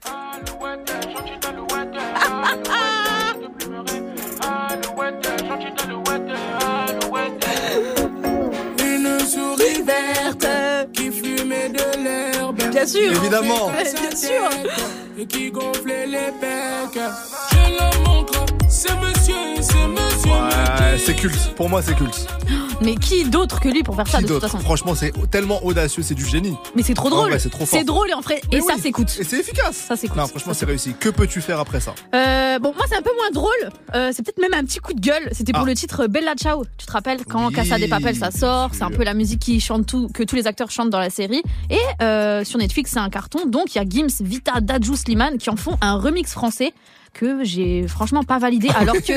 Une souris verte qui fumait de l'herbe.
Bien sûr.
Évidemment.
Bien sûr.
Et qui gonflait les pecs. Je le montre, c'est monsieur.
Ouais, c'est culte. Pour moi, c'est culte.
Mais qui d'autre que lui pour faire ça de toute façon?
Franchement, c'est tellement audacieux, c'est du génie.
Mais c'est trop drôle.
Ouais, c'est trop fort.
C'est drôle et en fait, et ça s'écoute.
Et c'est efficace.
Ça s'écoute.
Non, franchement, c'est réussi. Que peux-tu faire après ça?
Bon, moi, c'est un peu moins drôle. C'est peut-être même un petit coup de gueule. C'était pour le titre Bella Ciao. Tu te rappelles quand Casa de Papel ça sort? C'est un peu la musique que tous les acteurs chantent dans la série. Et sur Netflix, c'est un carton. Donc, il y a Gims, Vita, Dadju, Slimane qui en font un remix français que j'ai franchement pas validé, alors que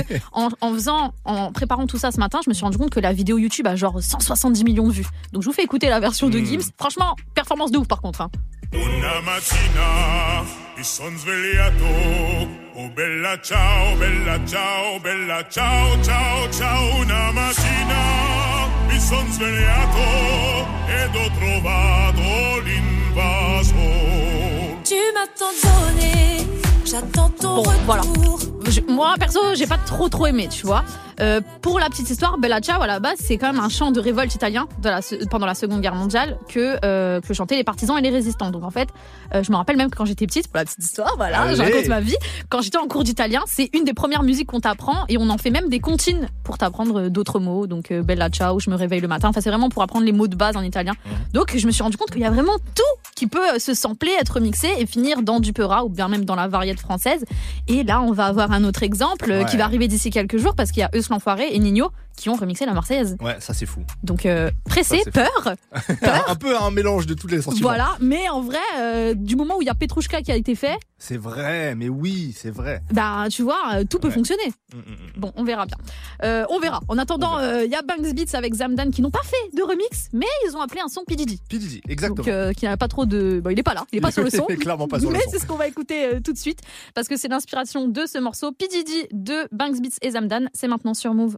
en préparant tout ça ce matin, je me suis rendu compte que la vidéo YouTube a genre 170 millions de vues. Donc je vous fais écouter la version de Gims. Franchement, performance de ouf par contre.
Una mattina mi son svegliato. Oh bella ciao, bella ciao, bella ciao, ciao, ciao. Una mattina mi son svegliato ed ho trovato l'invaso.
Tu m'as tant donné, j'attends ton retour.
Voilà. Moi, perso, j'ai pas trop aimé, tu vois. Pour la petite histoire, Bella Ciao, à la base, c'est quand même un chant de révolte italien pendant la Seconde Guerre mondiale que chantaient les partisans et les résistants. Donc en fait, je me rappelle même que quand j'étais petite, pour la petite histoire, voilà, je raconte ma vie. Quand j'étais en cours d'italien, c'est une des premières musiques qu'on t'apprend et on en fait même des comptines pour t'apprendre d'autres mots. Donc Bella Ciao, je me réveille le matin. Enfin, c'est vraiment pour apprendre les mots de base en italien. Donc je me suis rendu compte qu'il y a vraiment tout qui peut se sampler, être mixé et finir dans du peura ou bien même dans la variété française. Et là, on va avoir un autre exemple qui va arriver d'ici quelques jours parce qu'il y a Eus l'Enfoiré et Nino qui ont remixé la Marseillaise.
Ouais, ça c'est fou.
Donc pressé, peur.
Un peu un mélange de tous les sentiments.
Voilà, mais en vrai, du moment où il y a Petrouchka qui a été fait...
C'est vrai, mais oui, c'est vrai.
Bah, tu vois, tout peut fonctionner. Bon, on verra bien. On verra. En attendant, il y a Banks Beats avec Zamdan qui n'ont pas fait de remix, mais ils ont appelé un son P. Diddy.
P. Diddy, exactement.
Donc, qui n'a pas trop de... Bon, il est pas là, il est pas sur le son.
Il est clairement pas sur le son.
Mais c'est ce qu'on va écouter tout de suite, parce que c'est l'inspiration de ce morceau. P. Diddy de Banks Beats et Zamdan. C'est maintenant sur Move.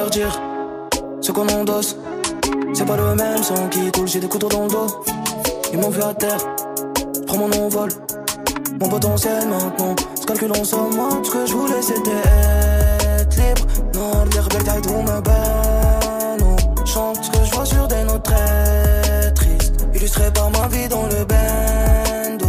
leur dire ce qu'on endosse. C'est pas le même sang qui coule, j'ai des couteaux dans le dos. Ils m'ont vu à terre, prends mon envol. Mon potentiel maintenant, je calcule en somme. Moi, ce que je voulais c'était être libre. Non, les rebelles taillent tout me bano. Chante ce que je vois sur des notes très tristes, illustré par ma vie dans le bando.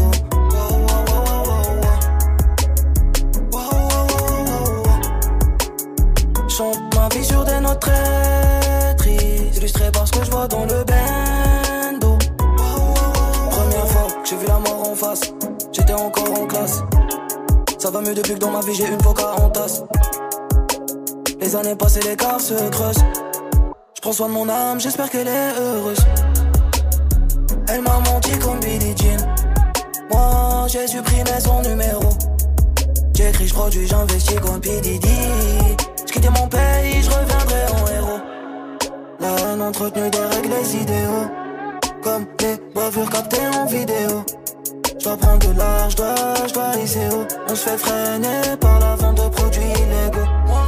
Chante ma vie sur des notes très tristes, illustré par ce que je vois dans le bando. Première fois que j'ai vu la mort en face, j'étais encore en classe. Ça va mieux depuis que dans ma vie j'ai une coca en tasse. Les années passées, l'écart se creuse. Je prends soin de mon âme, j'espère qu'elle est heureuse. Elle m'a menti comme Billie Jean. Moi j'ai supprimé son numéro. J'écris, j'produis, j'investis comme P. Diddy. J'quittais mon pays, j'reviendrai en héros. La haine entretenue des règles, les idéaux. Comme les bavures captées en vidéo. J'dois prendre de l'art, j'dois lycée haut. On se fait freiner par la vente de produits illégaux.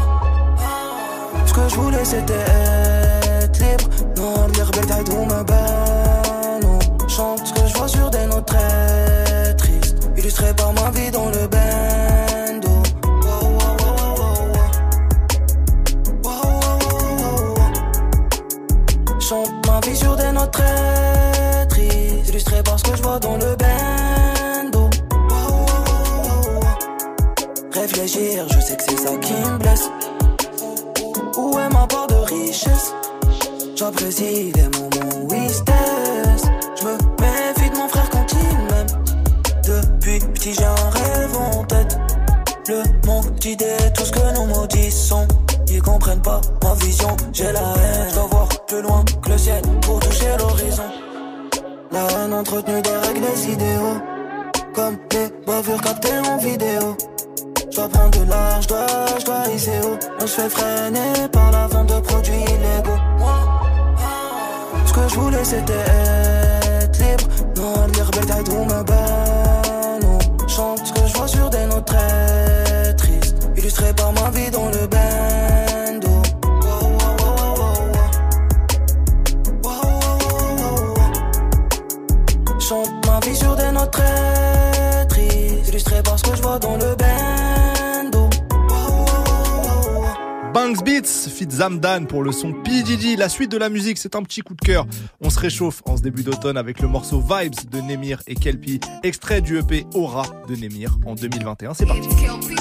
Ce que je voulais c'était être libre. Non, les rebelles taillent tout me bano. Chante ce que je vois sur des notes très tristes, illustré par ma vie dans le bando. Chante ma vie sur des notes très tristes, illustré par ce que je vois dans le bando. Réfléchir, je sais que c'est ça qui me blesse. Où est ma part de richesse? J'apprécie les moments où il se taise. J'me méfie de mon frère quand il m'aime. Depuis petit j'ai un rêve en tête. Le manque d'idées, tout ce que nous maudissons. Ils comprennent pas ma vision, j'ai la haine. J'dois voir plus loin que le ciel pour toucher l'horizon. La haine entretenue des règles, les idéaux. Comme les bavures captées en vidéo. J'dois prendre de l'art, j'dois lycée haut. On se fait freiner par la vente de produits illégaux. Ce que je voulais c'était être libre. Non, les rebelles taillent tout me bano. Chante ce que je vois sur des notes très tristes, illustré par ma vie dans le bando. Chante ma vie sur des notes très tristes, illustré par ce que je vois dans le bando.
Banks Beats, fit Zamdan pour le son P. Diddy. La suite de la musique, c'est un petit coup de cœur. On se réchauffe en ce début d'automne avec le morceau Vibes de Némir et Kelpie, extrait du EP Aura de Némir en 2021. C'est parti.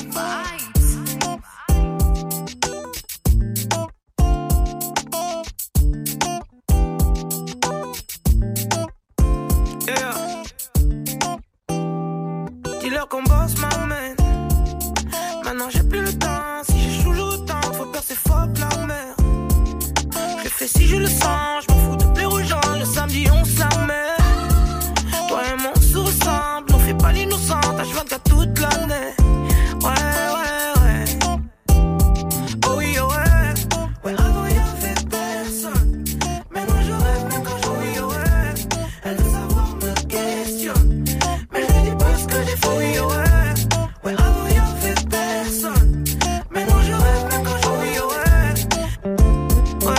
Dis-leur qu'on bosse m'amène. Maintenant j'ai plus le temps. Si j'ai toujours autant, faut peur c'est fuck la mer. Je le fais si je le sens. Je m'en fous de plaire aux gens. Le samedi on se la met. Toi et moi on se ressemble. On fait pas l'innocent. H24 toute l'année. Ouais. Oh oui, oh ouais. Ouais, avant y'avait personne. Maintenant je rêve même quand je oui, oh ouais. Elle veut savoir me questionne. Mais je lui dis pas ce que j'ai fait, oui, oh ouais. Ouais, avant y'avait personne. Maintenant je rêve même quand je oui, oh ouais.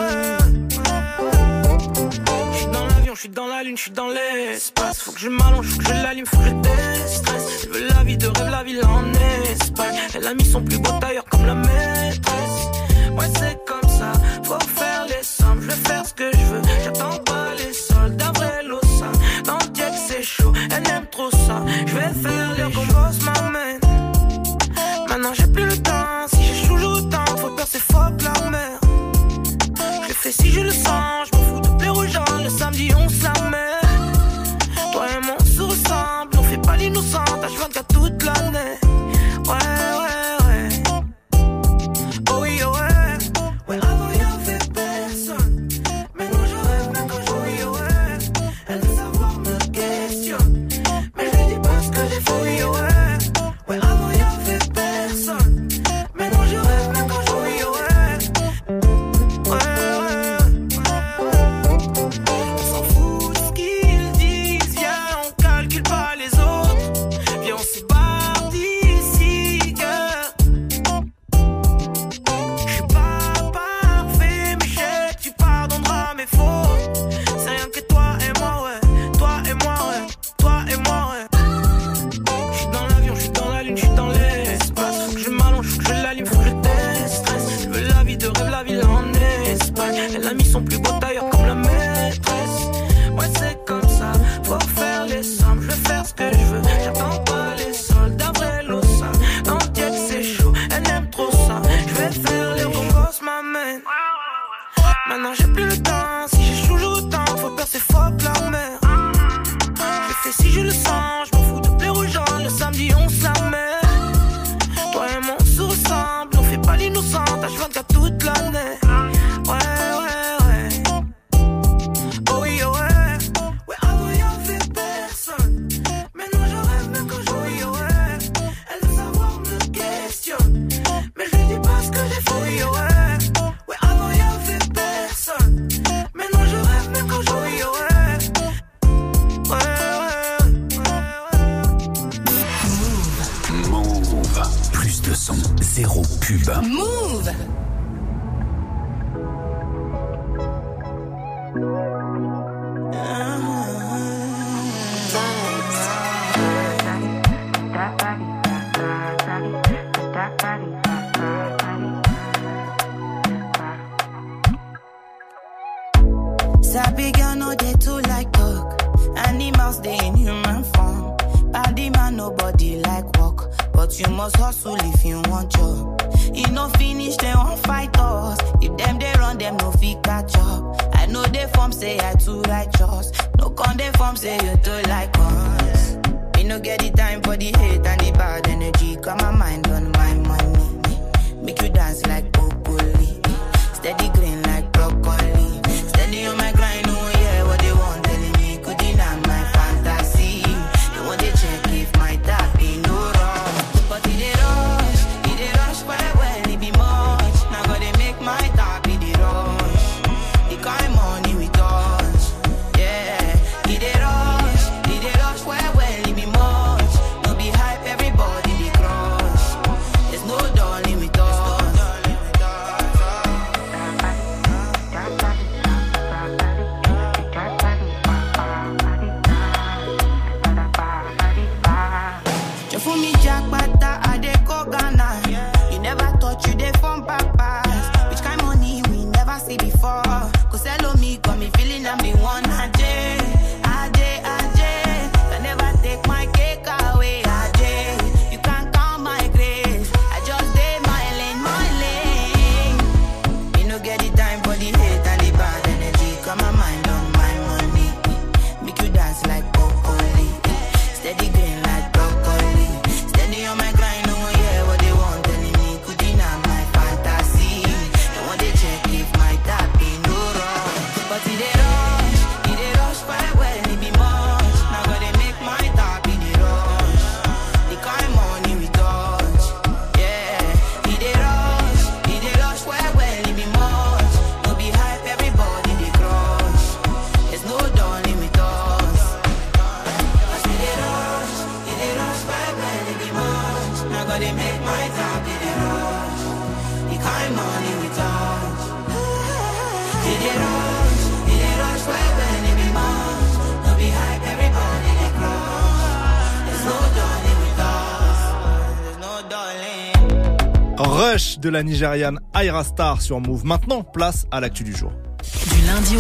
J'suis dans l'avion, j'suis dans la lune, j'suis dans l'espace. Faut que je m'allonge, faut que je l'allume, faut que je déstresse. Je veux la vie de rêve, la ville en Espagne. Elle a mis son plus beau tailleur comme la maîtresse. Ouais, c'est comme ça, faut faire les sommes. Je vais faire ce que je veux, j'attends pas les soldes. Un vrai losa, dans le diable c'est chaud. Elle aime trop ça, je vais faire les qu'on bosse m'amène. Maintenant j'ai plus le temps, si j'ai toujours autant, faut peur c'est fuck la mer. Je le fais si je le sens, je m'en fous de plaire aux gens. Le samedi on se la met. Toi et moi on se ressemble, on fait pas l'innocent. H24 toute l'année. Ouais. Oh oui, oh ouais. Ouais, avant y'avait personne. Maintenant je rêve même quand je oui, oh ouais. Elle veut savoir me questionne. Mais je lui dis pas ce que j'ai fait, oui, oh ouais. Ouais, avant y'avait personne. Maintenant je rêve même quand je oui, oh ouais. Ouais.
Zéro pub.
Move.
Sabi girl no dey too like talk. Animals dey in human form. Body man nobody like walk, but you must hustle if you want job. E no finish they won't fight us. If them they run them no fit catch up. I know they form say I too righteous. No con they form say you too like us. Me no get the time for the hate and the bad energy. Got my mind on my money. Make you dance like broccoli. Steady green like broccoli. Steady on my grind, oh yeah, what they want telling me could deny my fantasy. They want to check if my tap be no wrong. But it dey rush well, it be much. Now gotta make my tap be the rush. The kind money we touch, yeah. It dey rush well, it be much. No be hype, everybody they crush. There's no darling with us. You fool me jackpata, I dey go Ghana. You never thought you dey from papas. Which kind money we never see before. Cause hello me, got me feeling I'm the one. Ajay. Can never take my cake away. Ajay, you can't count my grace. I just dey my lane. You no get the time for the hate and the bad energy. Got my mind on my money. Make you dance like broccoli. Steady green like broccoli. Steady on my grind, oh yeah, what they want telling me could deny my fantasy. They want to check if my tap be no wrong. But it dey rush well, it be much. Now gotta make my tap be the rush. The kind money we touch, yeah. It dey rush well, it be much. No be hype, everybody they crush. There's no darling with us. Cause it dey rush well, it be much. Now gotta make my tap be the rush. The kind money we touch. It dey rush well, it be much. No be hype, everybody they crush. There's no darling with us. There's no darling.
Rush de la Nigériane Ayra Starr sur Move. Maintenant, place à l'actu du jour.
Du lundi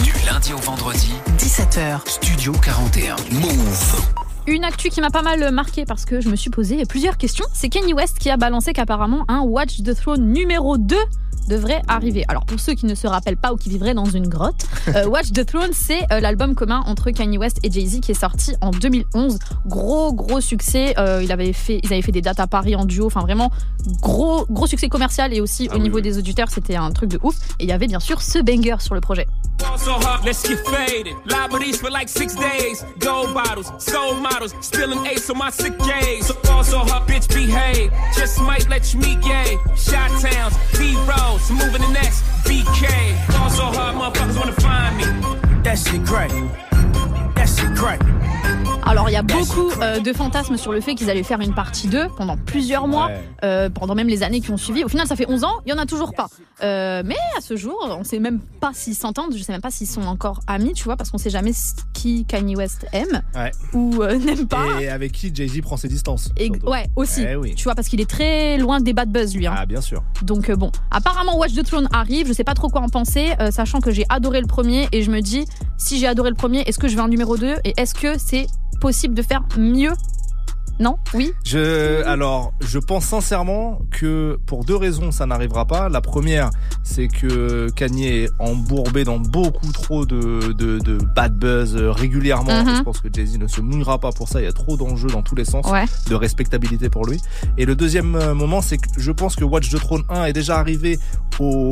au vendredi, 17h, Studio 41. Move.
Une actu qui m'a pas mal marqué parce que je me suis posé plusieurs questions. C'est Kanye West qui a balancé qu'apparemment un Watch the Throne numéro 2 devrait arriver. Alors pour ceux qui ne se rappellent pas ou qui vivraient dans une grotte, Watch the Throne, c'est l'album commun entre Kanye West et Jay-Z qui est sorti en 2011. Gros succès. Ils avaient fait des dates à Paris en duo. Enfin vraiment gros succès commercial et aussi au niveau des auditeurs, c'était un truc de ouf. Et il y avait bien sûr ce banger sur le projet.
So hot, let's get faded. Liberties for like 6 days. Gold bottles, soul models, spilling ace on my sick days. So also hot, bitch, behave. Just might let you meet gay. Shot towns, B-rolls, moving the next BK. Also hot, motherfuckers wanna find me. That shit great. That shit great.
Alors il y a beaucoup de fantasmes sur le fait qu'ils allaient faire une partie 2 pendant plusieurs mois, pendant même les années qui ont suivi. Au final ça fait 11 ans, il n'y en a toujours pas. Mais à ce jour, on ne sait même pas s'ils s'entendent, je ne sais même pas s'ils sont encore amis, tu vois, parce qu'on ne sait jamais qui Kanye West aime ou n'aime pas.
Et avec qui Jay-Z prend ses distances.
Ouais, aussi,
oui.
Tu vois, parce qu'il est très loin des bad buzz lui. Hein.
Ah bien sûr.
Donc bon, apparemment Watch the Throne arrive, je ne sais pas trop quoi en penser, sachant que j'ai adoré le premier et je me dis, si j'ai adoré le premier, est-ce que je veux un numéro 2 et est-ce que c'est possible de faire mieux? Non? Oui?
Alors, je pense sincèrement que pour 2 raisons, ça n'arrivera pas. La première, c'est que Kanye est embourbé dans beaucoup trop de bad buzz régulièrement. Et je pense que Jay-Z ne se mouillera pas pour ça. Il y a trop d'enjeux dans tous les sens, de respectabilité pour lui. Et le deuxième moment, c'est que je pense que Watch the Throne 1 est déjà arrivé au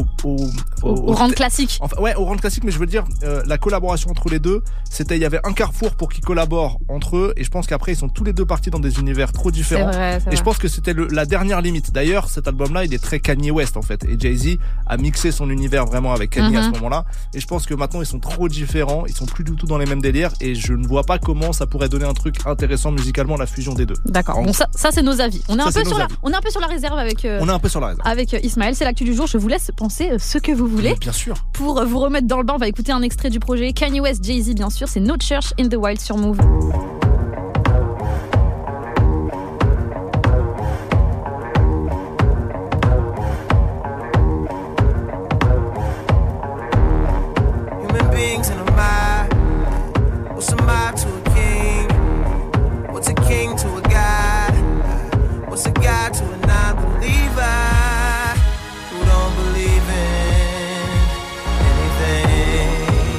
round classique.
Enfin, ouais, au round classique, mais je veux dire, la collaboration entre les deux, il y avait un carrefour pour qu'ils collaborent entre eux. Et je pense qu'après, ils sont tous les deux partis dans des deux univers trop différents.
C'est vrai.
Et je pense que c'était la dernière limite. D'ailleurs, cet album-là, il est très Kanye West en fait. Et Jay-Z a mixé son univers vraiment avec Kanye à ce moment-là. Et je pense que maintenant, ils sont trop différents. Ils sont plus du tout dans les mêmes délires. Et je ne vois pas comment ça pourrait donner un truc intéressant musicalement, la fusion des deux.
D'accord. Bon, ça c'est nos avis. On est un peu sur la réserve avec.
On est un peu sur la réserve.
Avec Ismaël, c'est l'actu du jour. Je vous laisse penser ce que vous voulez.
Bien sûr.
Pour vous remettre dans le bain, on va écouter un extrait du projet Kanye West, Jay-Z, bien sûr. C'est No Church in the Wild sur Move.
Human beings in a mob. What's a mob to a king? What's a king to a god? What's a god to a non-believer who don't believe in anything?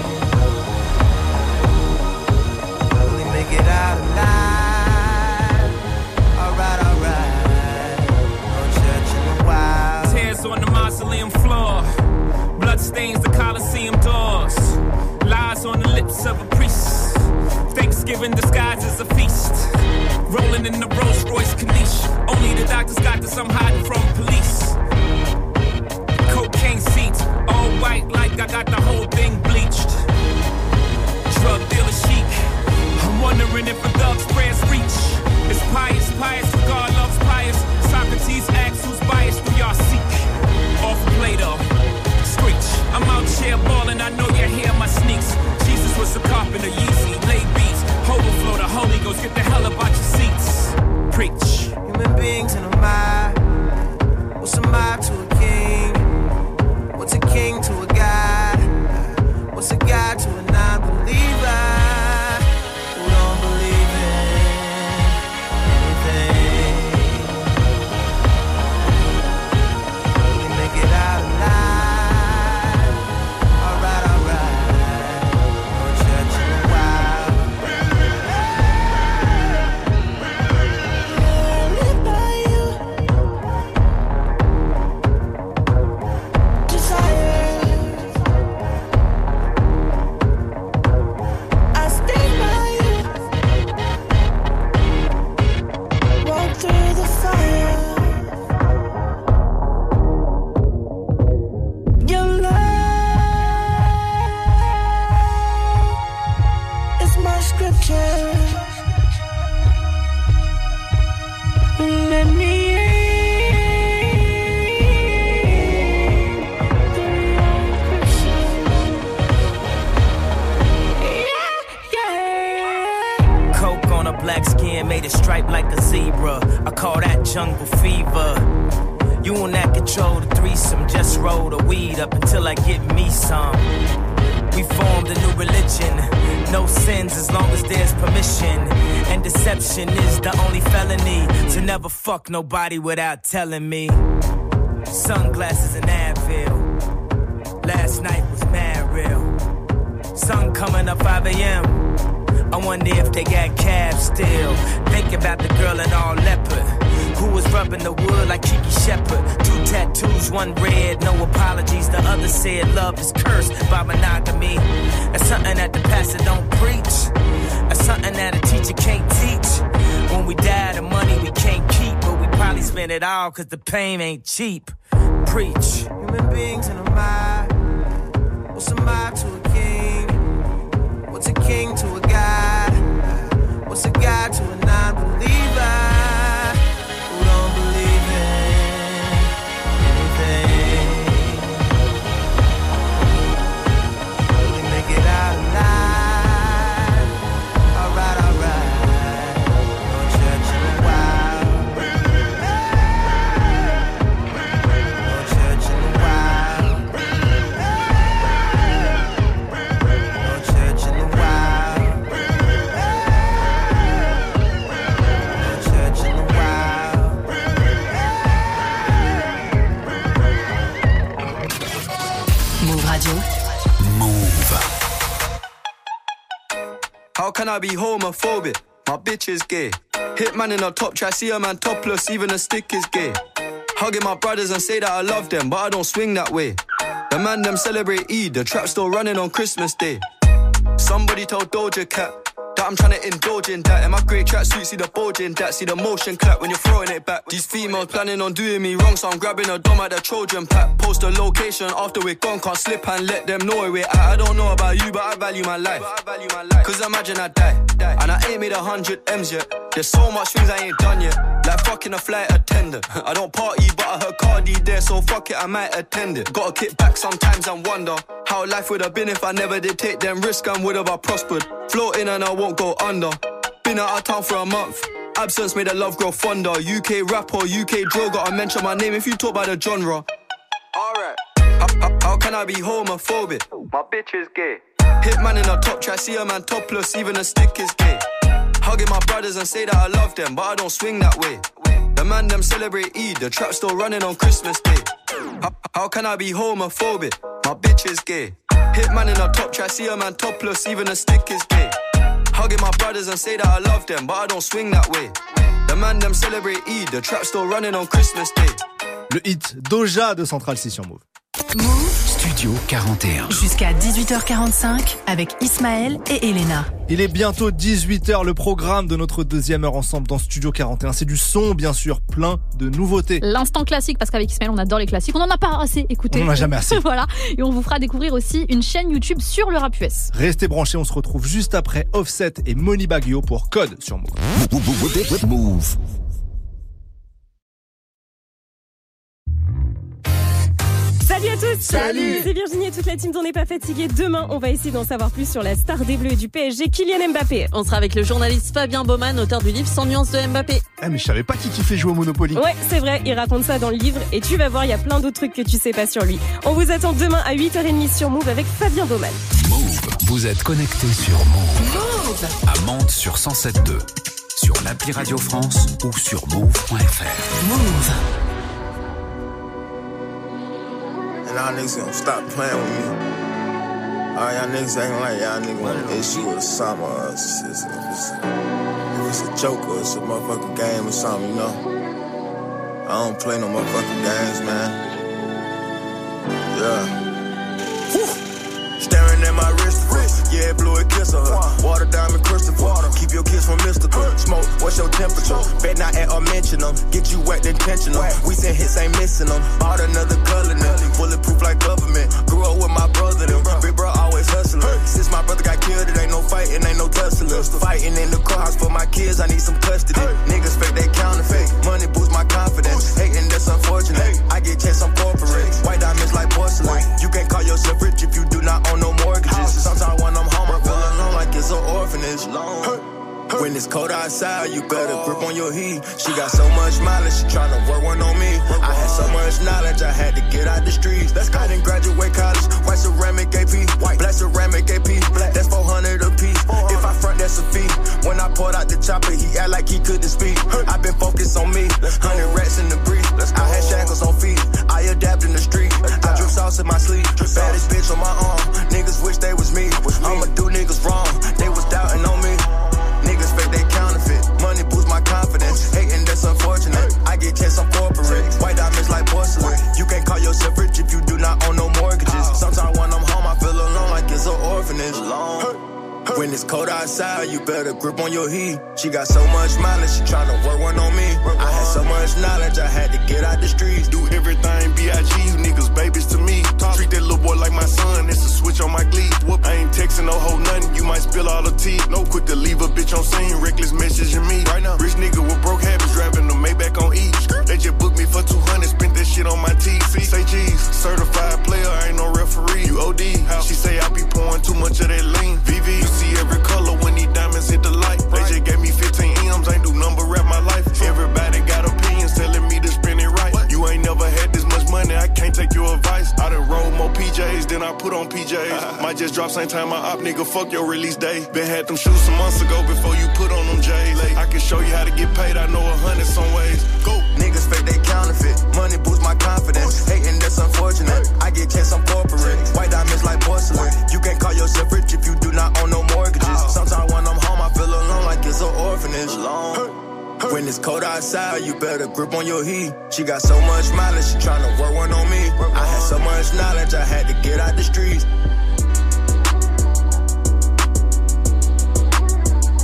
Will he make it out alive? Alright. No church in the wild.
Tears on the mausoleum floor. Blood stains the Coliseum doors. Lies on the lips of a priest. Thanksgiving disguised as a feast. Rolling in the Rolls Royce Corniche. Only the doctors got this, I'm hiding from police. Cocaine seats, all white like I got the whole thing bleached. Drug dealer chic. I'm wondering if a thug's prayers reach. It's pious, who God loves pious. Socrates asks who's biased, who y'all seek. Off Plato, screech. I'm out here balling, I know you hear my sneaks. Jesus was a carpenter, Yeezy, laid beats. Overflow, the Holy Ghost, get the hell about your seats. Preach.
Human beings in a mob. What's a mob to a king? What's a king to a god? What's a god to a non-believer who don't believe in anything? Will he make it out alive? Alright. No church in the wild. Live by you. Desire. I stay by you. Walk through the fire. Your love is my scripture. Let me
Coke on a black skin, made it stripe like a zebra. I call that jungle fever. You will not control the threesome, just roll the weed up until I get me some. We formed a new religion, no sins as long as there's permission. And deception is the only felony, to never fuck nobody without telling me. Sunglasses and Advil, last night was mad real. Sun coming up 5 a.m. I wonder if they got cabs still. Think about the girl in all leopard, who was rubbing the wood like Kiki Shepard. 2 tattoos, 1 red, no apologies. The other said love is cursed by monogamy. That's something that the pastor don't preach. That's something that a teacher can't teach. When we die, the money we can't keep, but we probably spend it all cause the pain ain't cheap. Preach.
Human beings in a mob. What's a mob to a king? What's a king to a god? What's a god to a non-believer who don't believe in anything? Will he make it out alive? Alright. No church in the wild. No church in the wild. No church in the wild. No church in the wild.
Move Radio.
How can I be homophobic? My bitch is gay. Hitman in a top try, see a man topless, even a stick is gay. Hugging my brothers and say that I love them, but I don't swing that way. The man them celebrate Eid, the trap still running on Christmas Day. Somebody told Doja Cat that I'm trying to indulge in that. In my grey tracksuit, see the bulge in that. See the motion clap when you're throwing it back. These females planning on doing me wrong, so I'm grabbing a dome at the Trojan pack. Post a location after we're gone, can't slip and let them know where we're at. I don't know about you, but I value my life. Cause imagine I die, and I ain't made 100 M's yet. There's so much things I ain't done yet, like fucking a flight attendant. I don't party, but I heard Cardi there, so fuck it, I might attend it. Gotta kick back sometimes and wonder how life would have been if I never did take them risks and would have I prospered. Floating and I won't go under. Been out of town for a month. Absence made the love grow fonder. UK rapper, UK drill, gotta mention my name if you talk about the genre. Alright. How can I be homophobic? My bitch is gay. Hitman in a top try, see a man topless, even a stick is gay. Hugging my brothers and say that I love them, but I don't swing that way. The man them celebrate Eid, the trap still running on Christmas Day. How can I be homophobic? My bitch is gay. Hitman in a top try, see a man topless, even a stick is gay. Hugging my brothers and say that I love them, but I don't swing that way. The man them celebrate Eid, the trap still running on Christmas Day.
Le hit Doja de Central C sur Move.
Move Studio 41.
Jusqu'à 18h45 avec Ismaël et Elena.
Il est bientôt 18h, le programme de notre deuxième heure ensemble dans Studio 41. C'est du son, bien sûr, plein de nouveautés.
L'instant classique, parce qu'avec Ismaël, on adore les classiques. On n'en a pas assez écouté.
On n'en a jamais assez.
Voilà. Et on vous fera découvrir aussi une chaîne YouTube sur le rap US.
Restez branchés, on se retrouve juste après Offset et Money Baggio pour Code sur Move. Move.
Salut à tous.
Salut.
C'est Virginie et toute la team d'On n'est pas fatigué. Demain, on va essayer d'en savoir plus sur la star des Bleus et du PSG, Kylian Mbappé.
On sera avec le journaliste Fabien Baumann, auteur du livre 100 nuances de Mbappé.
Ah mais je savais pas qui kiffait jouer au Monopoly.
Ouais, c'est vrai, il raconte ça dans le livre et tu vas voir, il y a plein d'autres trucs que tu sais pas sur lui. On vous attend demain à 8h30 sur Move avec Fabien Baumann.
Move, vous êtes connectés sur Move.
Move
à Mantes sur 107.2, sur l'appli Radio France ou sur move.fr.
Move.
And y'all niggas gonna stop playing with me. All y'all niggas acting like y'all niggas want an issue with something or else. If it's a joke or it's a motherfucking game or something, you know. I don't play no motherfucking games, man. Yeah. Staring at my wrist, yeah, blue it kiss her. Water diamond Christopher, keep your kiss from mystical. Smoke, what's your temperature? Bet not at or mention them. Get you wet intentional. We send hits, ain't missing them. Bought another color now, bulletproof like government. Grew up with my brother, them. Big bro always hustling. Since my brother got killed, it ain't no fighting, ain't no tussling. Fighting in the courthouse for my kids, I need some custody. Niggas fake, they counterfeit. Money boosts my confidence. Hating, that's unfortunate. I get checks on corporate. White diamonds like porcelain. You can't call yourself rich if you do not own no mortgages. Sometimes when I'm home, I feel alone like it's an orphanage. When it's cold outside, you better grip on your heat. She got so much mileage, she tryna work one on me. I had so much knowledge, I had to get out the streets. I didn't graduate college, white ceramic AP, black ceramic AP, that's 400 a piece. If I front, that's a fee. When I pulled out the chopper, he act like he couldn't speak. I been focused on me, 100 rats in the breeze. I had shackles on feet, I adapt in the street. I drip sauce in my sleep, baddest bitch on my arm. Niggas wish they was me, I'ma do niggas wrong. They was doubting on me. Niggas fake, they counterfeit. Money boosts my confidence. Hating, that's unfortunate. I get checks on corporate. White diamonds like porcelain. You can't call yourself rich if you do not own no mortgages. Sometimes when I'm home, I feel alone like it's an orphanage. When it's cold outside, you better grip on your heat. She got so much mileage, she tryna work one on me. I had so much knowledge, I had to get out the streets.
Do everything B.I.G. You niggas babies to me. Treat that little boy like my son, it's a switch on my glee. I ain't texting no hoe nothing, you might spill all the tea. No quick to leave a bitch on scene, reckless messaging me. Right now, rich nigga with broke habits, driving the Maybach on E. They just booked me for 200, spent that shit on my TV. Say cheese, certified player, I ain't no referee. You OD, she say I be pouring too much of that lean. VV, you see every color when these diamonds hit the light. They just gave me 15 M's, ain't do number rap my life. Everybody got opinions telling me to spend it right. You ain't never had this much money, I can't take your advice. I done roll more PJs than I put on PJs. Might just drop same time I op, nigga, fuck your release day. Been had them shoes some months ago before you put on them J's. I can show you how to get paid, I know 100 some ways. Go.
Niggas fake, they counterfeit. Money boosts my confidence. Hating, that's unfortunate. I get checks on corporate. White diamonds like porcelain. You can't call yourself rich if you do not own no mortgages. Sometimes when I'm home, I feel alone like it's an orphanage. When it's cold outside, you better grip on your heat. She got so much mileage, she tryna work one on me. I had so much knowledge, I had to get out the streets.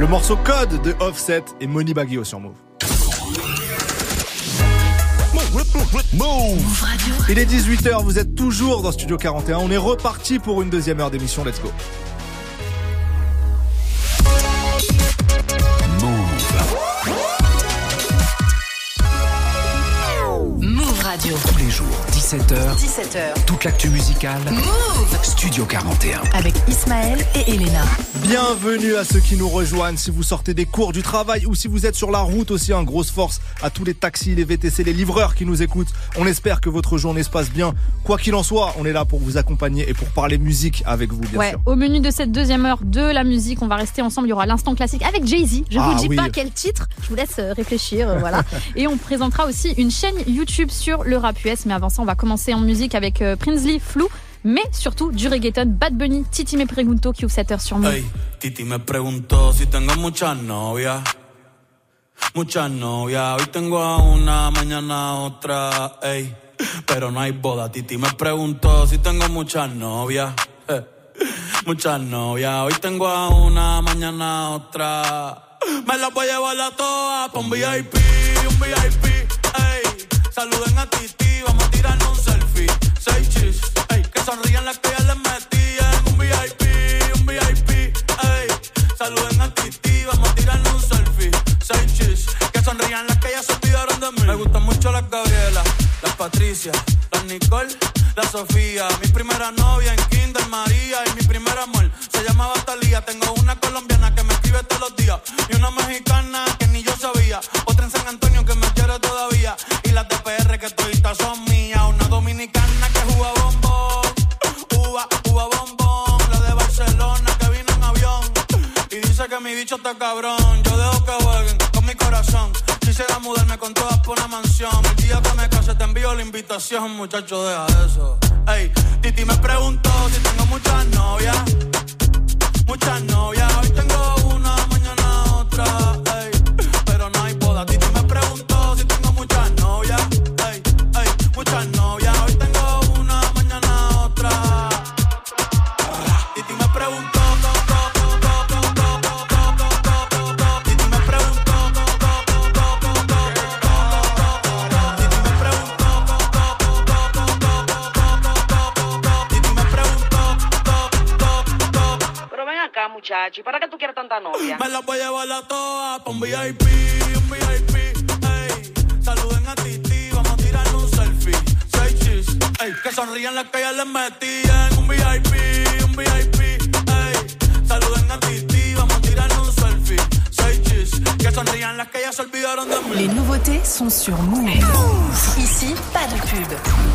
Le morceau Code de Offset et Moni Baguio sur Move.
Move Radio.
Il est 18h, vous êtes toujours dans Studio 41. On est reparti pour une deuxième heure d'émission. Let's go.
Move Radio. Tous les jours, 17h. Toute l'actu musicale. Move Studio 41.
Avec Ismaël et Elena.
Bienvenue à ceux qui nous rejoignent. Si vous sortez des cours, du travail ou si vous êtes sur la route aussi, une grosse force à tous les taxis, les VTC, les livreurs qui nous écoutent. On espère que votre journée se passe bien. Quoi qu'il en soit, on est là pour vous accompagner et pour parler musique avec vous, bien sûr.
Au menu de cette deuxième heure de la musique, on va rester ensemble. Il y aura l'instant classique avec Jay-Z. Je vous dis pas quel titre. Je vous laisse réfléchir, voilà. Et on présentera aussi une chaîne YouTube sur le rap US. Mais avant ça, on va commencer en musique avec Prinsley, Flou. Mais surtout du reggaeton, Bad Bunny, Titi me pregunto qui ouvre cette heure sur Move.
Hey, Titi me preguntó si tengo muchas novias. Muchas novias, hoy tengo a una, mañana a otra, ey. Pero no hay boda, Titi me preguntó si tengo muchas novias. Muchas novias, hoy tengo a una, mañana a otra. Me las voy a llevar a todas pa' un VIP, ey. Saluden a Titi, vamos a tirarnos un selfie. 6 chis, ey. Que sonrían las que ya les metí en un VIP, ey. Saluden a Titi, vamos a tirarnos un selfie. 6 chis, que sonrían las que ya se olvidaron de mí. Me gustan mucho las Gabriela, las Patricia, las Nicole, la Sofía. Mi primera novia en Kinder María y mi primer amor se llamaba Talía. Tengo una colombiana que me escribe todos los días y una mexicana que ni yo sabía. Otra en San Antonio que me quiere todavía y las de PR que toditas son mías. Una dominicana que juega bombón, uva bombón. La de Barcelona que vino en avión y dice que mi bicho está cabrón. Yo dejo que jueguen con mi corazón. Quisiera mudarme con todas por una mansión. El día que me case te envío la invitación, muchacho, deja eso. Ey, Titi me preguntó si tengo muchas novias. Muchas novias, hoy tengo una, mañana otra, ey. Pero no hay boda. Titi me preguntó si tengo muchas novias. Ey, muchas novias, hoy tengo una, mañana otra. Titi me preguntó.
Muchacho, ¿y para qué tú quieres tanta novia?
Me las voy a llevar a todas pa' un VIP, ey. Saluden a Titi, vamos a tirarnos un selfie. 6 chis, ey. Que sonrían las que ya les metí en un VIP, ey. Saluden a Titi, vamos a tirarnos un selfie. 6 chis, que sonrían las que ya se olvidaron de mí.
Les nouveautés sont sur Move. Ici, pas de pub.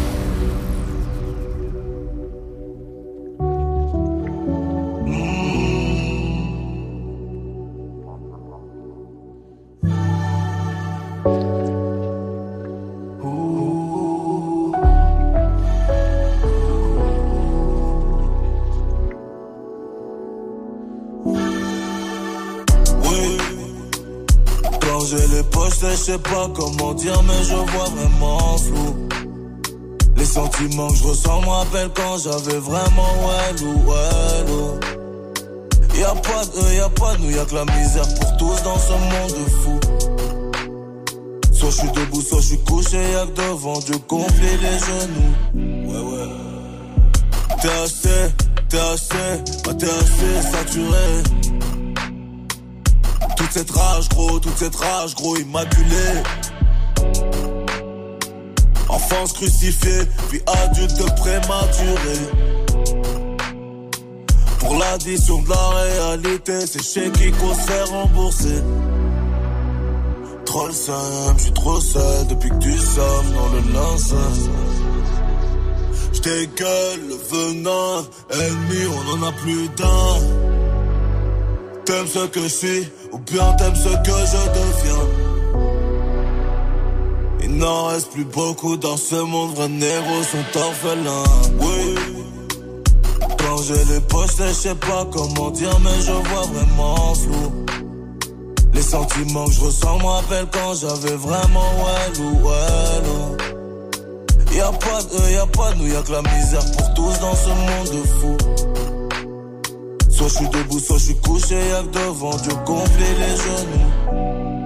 Je sais pas comment dire mais je vois vraiment flou. Les sentiments que je ressens me rappellent quand j'avais vraiment wello. Y'a pas de nous, y'a que la misère pour tous dans ce monde fou. Soit je suis debout, soit je suis couché, y'a que devant Dieu conflit les genoux. Ouais. T'es assez saturé. Toute cette rage gros immaculée. Enfance crucifiée, puis adulte prématuré. Pour l'addition de la réalité, c'est chez Kiko c'est remboursé. Trop le seum, j'suis trop seul depuis que tu sommes dans le linceul. J'dégueule le venin, ennemi on en a plus d'un. T'aimes ce que je suis, ou bien t'aimes ce que je deviens. Il n'en reste plus beaucoup dans ce monde, vrais négros sont orphelins. Oui, quand j'ai les poches, je sais pas comment dire, mais je vois vraiment flou. Les sentiments que je ressens me rappellent quand j'avais vraiment wello. Y'a pas de nous, y'a que la misère pour tous dans ce monde fou.
Soit je suis debout, soit je suis couché, y'a que devant Dieu gonfler les genoux.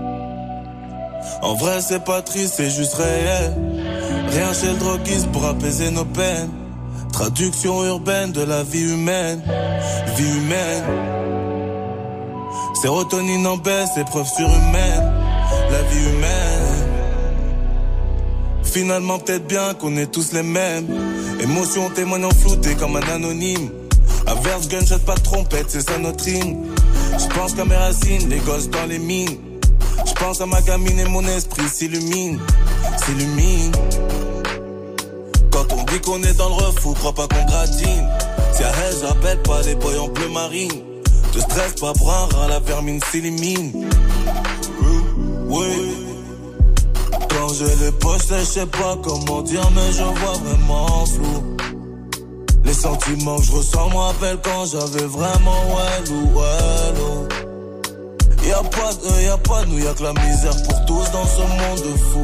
En vrai c'est pas triste, c'est juste réel. Rien chez le droguiste pour apaiser nos peines. Traduction urbaine de la vie humaine. Vie humaine. Sérotonine en baisse, épreuve surhumaine. La vie humaine. Finalement peut-être bien qu'on est tous les mêmes. Émotion témoignant flouté comme un anonyme. Averse, gunshot, pas de trompette, c'est ça notre hymne. J'pense qu'à mes racines, les gosses dans les mines. J'pense à ma gamine et mon esprit s'illumine. S'illumine. Quand on dit qu'on est dans le refou, crois pas qu'on gratine. Si à elle, j'appelle pas les boys en bleu marine. Te stresse pas pour un rat, la vermine s'élimine. Oui. Quand j'ai les poches, je sais pas comment dire, mais je vois vraiment flou. Les sentiments que je ressens me rappellent quand j'avais vraiment wello. Y'a pas de nous, y'a que la misère pour tous dans ce monde fou.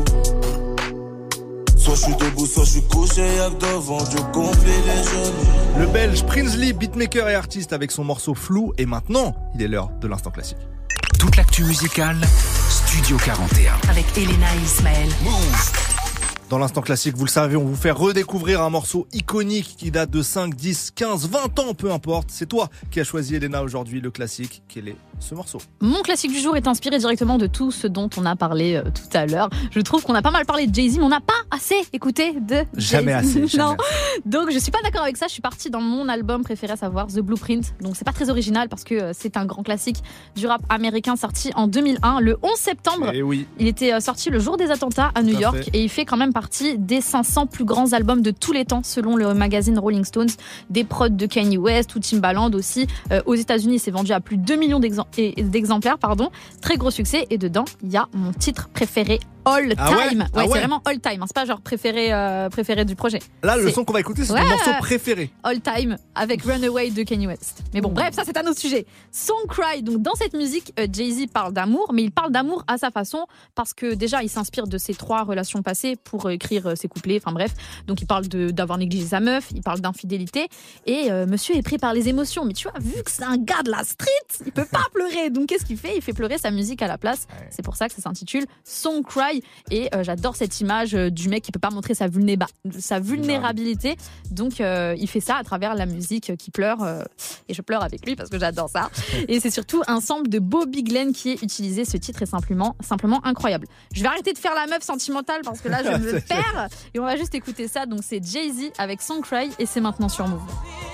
Soit je suis debout, soit je suis couché, y'a que devant Dieu gonfler les genoux.
Le Belge Prinsley, beatmaker et artiste avec son morceau Flou. Et maintenant, il est l'heure de l'instant classique.
Toute l'actu musicale, Studio 41.
Avec Elena et Ismaël.
Move.
Dans l'instant classique, vous le savez, on vous fait redécouvrir un morceau iconique qui date de 5, 10, 15, 20 ans, peu importe. C'est toi qui as choisi, Elena, aujourd'hui le classique. Quel est ce morceau?
Mon classique du jour est inspiré directement de tout ce dont on a parlé tout à l'heure. Je trouve qu'on a pas mal parlé de Jay-Z, mais on n'a pas assez écouté de Jay-Z.
Jamais assez.
Non. Donc je suis pas d'accord avec ça. Je suis partie dans mon album préféré, à savoir The Blueprint. Donc c'est pas très original parce que c'est un grand classique du rap américain sorti en 2001, le 11 septembre.
Et oui.
Il était sorti le jour des attentats à New York et il fait quand même partie des 500 plus grands albums de tous les temps selon le magazine Rolling Stones. Des prods de Kanye West ou Timbaland aussi. Aux États-Unis, il s'est vendu à plus de 2 millions d'exemplaires. Très gros succès. Et dedans, il y a mon titre préféré all time.
Ouais,
c'est vraiment all time. C'est pas genre préféré du projet.
Là, le son qu'on va écouter, c'est ton morceau préféré.
All time avec Runaway de Kanye West. Mais bon, bref, ça c'est un autre sujet. Song Cry. Donc dans cette musique, Jay-Z parle d'amour, mais il parle d'amour à sa façon parce que déjà, il s'inspire de ses 3 relations passées pour écrire ses couplets. Enfin bref, donc il parle d'avoir négligé sa meuf, il parle d'infidélité et monsieur est pris par les émotions. Mais tu vois, vu que c'est un gars de la street, il peut pas pleurer. Donc qu'est-ce qu'il fait? Il fait pleurer sa musique à la place. C'est pour ça que ça s'intitule Song Cry. Et j'adore cette image du mec qui peut pas montrer sa vulnérabilité. Donc il fait ça à travers la musique qui pleure. Et je pleure avec lui parce que j'adore ça. Et c'est surtout un sample de Bobby Glenn qui est utilisé. Ce titre est simplement incroyable. Je vais arrêter de faire la meuf sentimentale parce que là je me perds. Et on va juste écouter ça. Donc c'est Jay-Z avec Song Cry et c'est maintenant sur Move.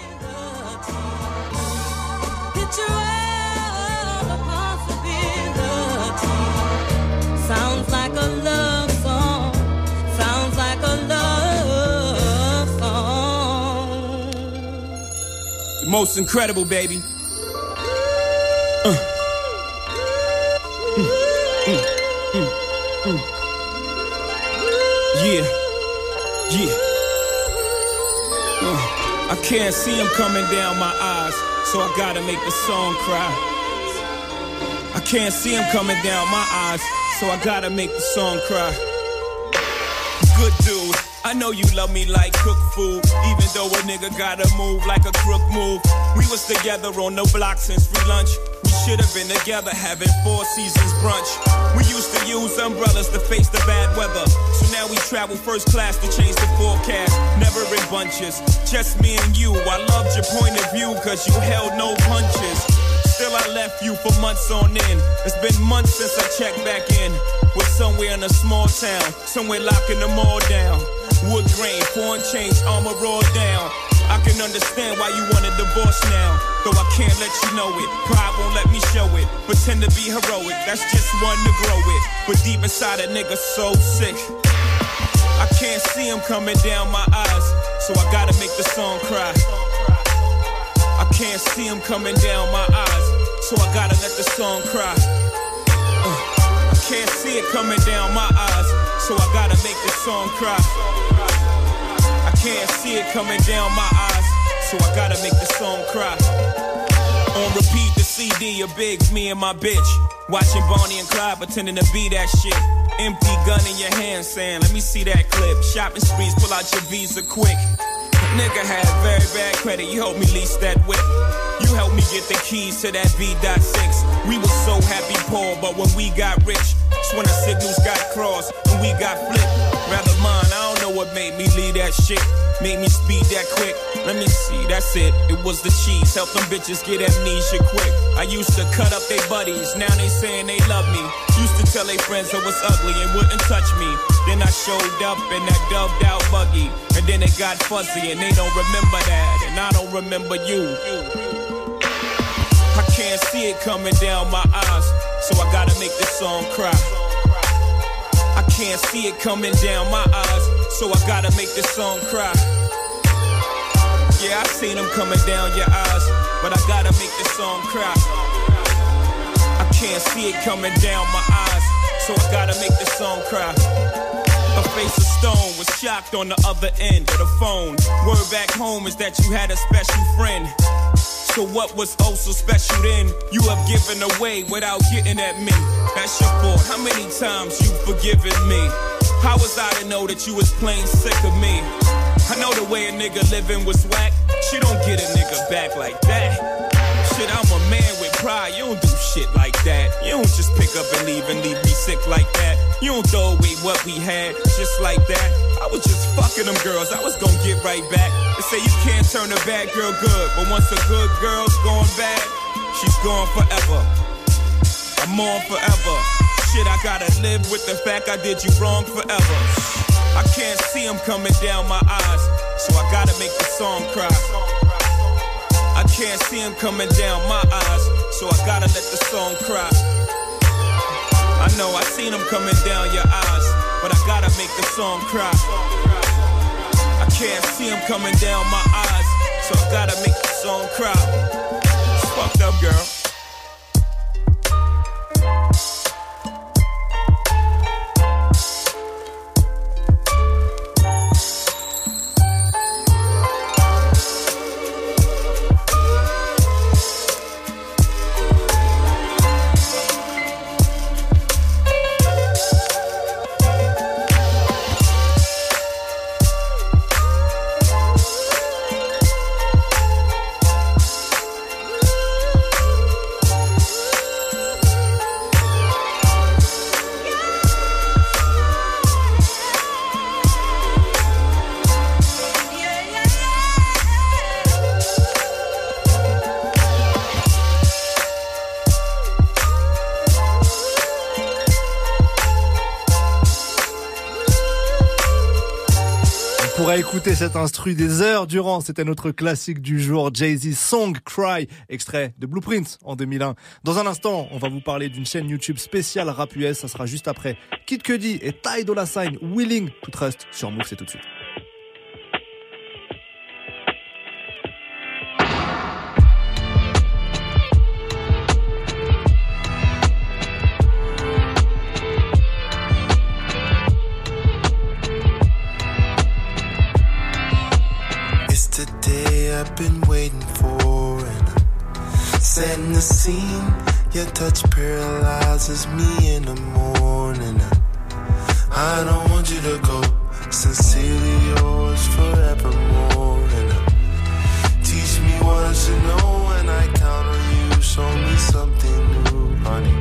Sounds like a love song. Sounds like a love song.
The most incredible, baby. Yeah. I can't see him coming down my eyes, so I gotta make the song cry. I can't see him coming down my eyes, so I gotta make the song cry. Good dude, I know you love me like cooked food, even though a nigga gotta move like a crook move. We was together on the block since free lunch. We should have been together having 4 seasons brunch. We used to use umbrellas to face the bad weather, so now we travel first class to change the forecast. Never in bunches, just me and you. I loved your point of view cause you held no punches. Still I left you for months on end. It's been months since I checked back in. We're somewhere in a small town, somewhere locking them all down. Wood grain, foreign change, armor rolled down. I can understand why you want a divorce now, though I can't let you know it. Pride won't let me show it. Pretend to be heroic, that's just one to grow it. But deep inside a nigga so sick, I can't see him coming down my eyes, so I gotta make the song cry. I can't see him coming down my eyes, so I gotta let the song cry. I can't see it coming down my eyes, so I gotta make the song cry. I can't see it coming down my eyes, so I gotta make the song cry. On repeat the CD of Biggs, me and my bitch, watching Bonnie and Clyde pretending to be that shit. Empty gun in your hand saying, let me see that clip. Shopping sprees, pull out your Visa quick. Nigga had very bad credit, you helped me lease that whip. You You helped me get the keys to that V.6. We were so happy poor, but when we got rich, that's when our signals got crossed and we got flipped. Rather mine, I don't know what made me leave that shit. Made me speed that quick. Let me see, that's it. It was the cheese. Help them bitches get amnesia quick. I used to cut up their buddies. Now they saying they love me. Used to tell their friends I was ugly and wouldn't touch me. Then I showed up in that dubbed out buggy. And then it got fuzzy and they don't remember that. And I don't remember you. I can't see it coming down my eyes, so I gotta make this song cry. I can't see it coming down my eyes, so I gotta make this song cry. Yeah, I seen them coming down your eyes, but I gotta make this song cry. I can't see it coming down my eyes, so I gotta make this song cry. Her face of stone was shocked on the other end of the phone. Word back home is that you had a special friend. So what was oh so special then? You have given away without getting at me. That's your fault. How many times you forgiven me? How was I to know that you was plain sick of me? I know the way a nigga living was whack. She don't get a nigga back like that. Shit, I'm a man with pride. You don't do shit like that. You don't just pick up and leave me sick like that. You don't throw away what we had just like that. I was just fucking them girls. I was gonna get right back. They say you can't turn a bad girl good, but once a good girl's gone bad, she's gone forever. I'm on forever. Shit, I gotta live with the fact I did you wrong forever. I can't see them coming down my eyes, so I gotta make the song cry. I can't see him coming down my eyes, so I gotta let the song cry. I know I seen him coming down your eyes, but I gotta make the song cry. I can't see him coming down my eyes, so I gotta make the song cry. It's fucked up, girl.
Écoutez cet instru des heures durant, c'était notre classique du jour, Jay-Z Song Cry, extrait de Blueprint en 2001. Dans un instant, on va vous parler d'une chaîne YouTube spéciale rap US, ça sera juste après Kid Cudi et Ty Dolla $ign, Willing to Trust sur Move, c'est tout de suite.
I've been waiting for, and setting the scene. Your touch paralyzes me in the morning. I don't want you to go. Sincerely yours forevermore. And teach me what I should know when I count on you. Show me something new, honey.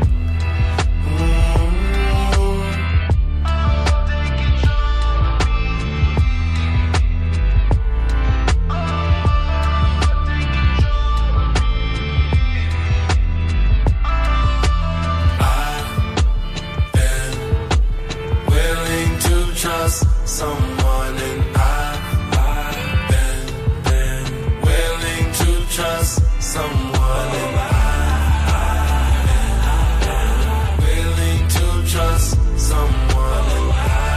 Someone, and I've been willing to trust someone, and I've been willing to trust someone, and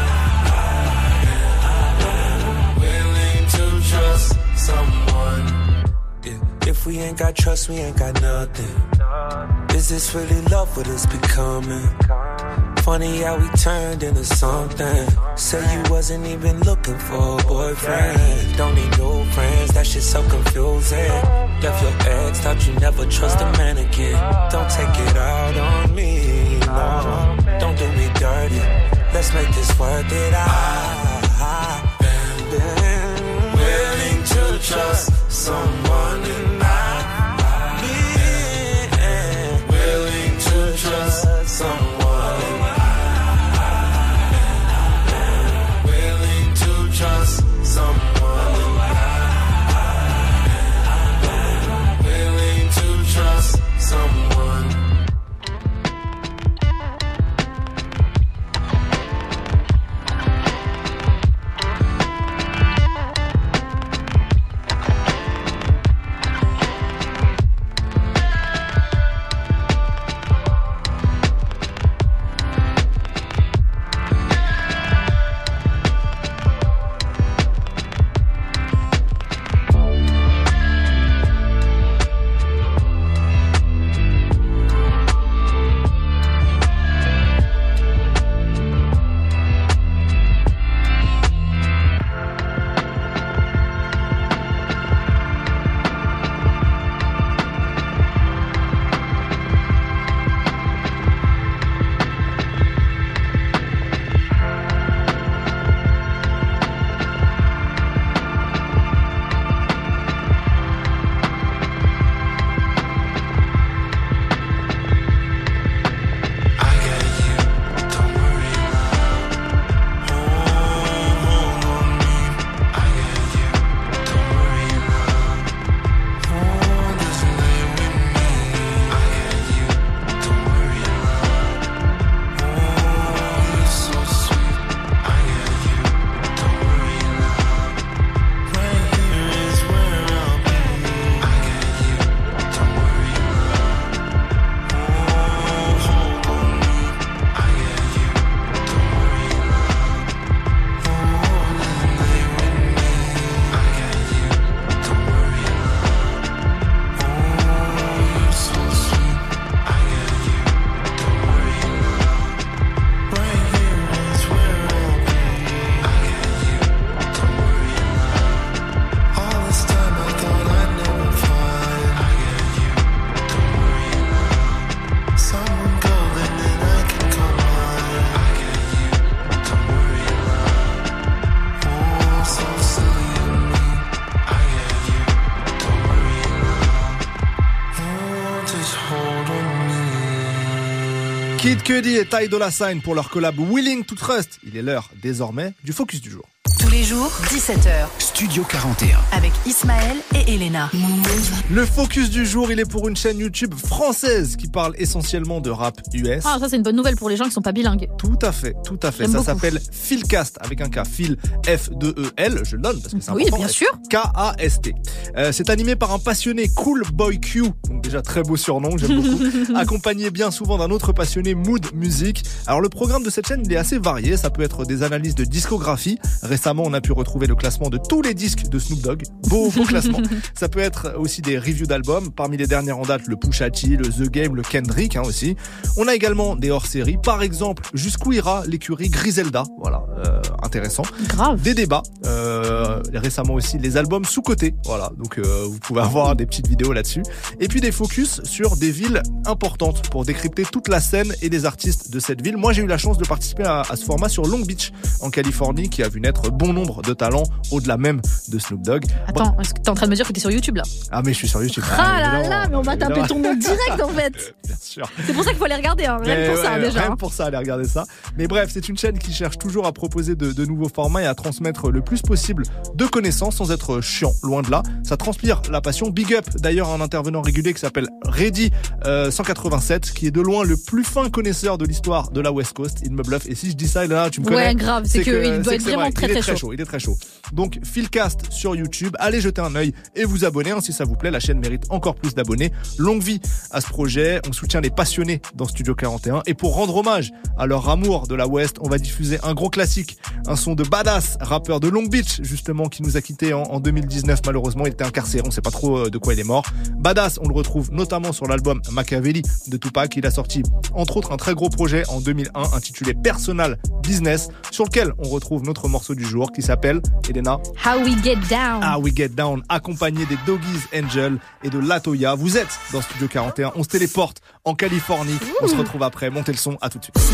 I've been willing to trust someone. If we ain't got trust, we ain't got nothing. Is this really love? What it's becoming? Funny how we turned into something. Say you wasn't even looking for a boyfriend. Don't need no friends, that shit's so confusing. Left your ex, thought you never trust a man again. Don't take it out on me, no. Don't do me dirty, let's make this worth it. I've been willing to trust someone, and I've
Kid Cudi et Ty Dolla $ign pour leur collab Willing to Trust. Il est l'heure désormais du focus du jour.
Tous les jours, 17h.
Studio 41.
Avec Ismaël et Elena.
Le focus du jour, il est pour une chaîne YouTube française qui parle essentiellement de rap US.
Ah, ça c'est une bonne nouvelle pour les gens qui sont pas bilingues.
Tout à fait.
J'aime
Ça
beaucoup.
s'appelle Philcast avec un K. Phil, F-2-E-L. Je le donne parce que c'est important.
Oui, bien sûr.
K-A-S-T. C'est animé par un passionné Cool Boy Q. Donc déjà très beau surnom, j'aime beaucoup. Accompagné bien souvent d'un autre passionné Mood Music. Alors le programme de cette chaîne, il est assez varié. Ça peut être des analyses de discographie. Récemment, on a pu retrouver le classement de tous les disques de Snoop Dogg. Beau classement. Ça peut être aussi des reviews d'albums. Parmi les dernières en date, le Pusha T, le The Game, le Kendrick aussi. On a également des hors-séries. Par exemple, jusqu'où ira l'écurie Griselda. Voilà, intéressant.
Grave.
Des débats. Récemment aussi, les albums sous-cotés. Voilà, donc vous pouvez avoir des petites vidéos là-dessus. Et puis des focus sur des villes importantes pour décrypter toute la scène et les artistes de cette ville. Moi, j'ai eu la chance de participer à ce format sur Long Beach, en Californie, qui a vu naître bon nombre de talents au-delà même de Snoop Dogg.
Attends, est-ce que t'es en train de me dire que t'es sur YouTube là?
Ah, mais je suis sur YouTube.
Ah là là, mais on va taper ton nom direct en fait.
Bien sûr.
C'est pour ça qu'il faut aller regarder, hein. Rien que pour ça déjà.
Rien pour ça, allez regarder ça. Mais bref, c'est une chaîne qui cherche toujours à proposer de nouveaux formats et à transmettre le plus possible de connaissances sans être chiant, loin de là. Ça transpire la passion. Big up d'ailleurs à un intervenant régulier qui s'appelle Reddy 187, qui est de loin le plus fin connaisseur de l'histoire de la West Coast. Il me bluffe. Et si je dis ça, là, tu me connais.
Ouais, grave. C'est qu'il doit être vraiment très chaud.
Il est très chaud. Donc, Philcast sur YouTube. Allez jeter un œil et vous abonner si ça vous plaît. La chaîne mérite encore plus d'abonnés. Longue vie à ce projet. On soutient les passionnés dans Studio 41. Et pour rendre hommage à leur amour de la West, on va diffuser un gros classique. Un son de Badass, rappeur de Long Beach, justement, qui nous a quittés en 2019. Malheureusement, il était incarcéré. On sait pas trop de quoi il est mort. Badass, on le retrouve notamment sur l'album Machiavelli de Tupac. Il a sorti, entre autres, un très gros projet en 2001 intitulé Personal Business, sur lequel on retrouve notre morceau du jour qui s'appelle, Elena,
How We Get Down.
How We Get Down, accompagné des Doggies Angel et de Latoya. Vous êtes dans Studio 41. On se téléporte en Californie. On se retrouve après. Montez le son. À tout de suite.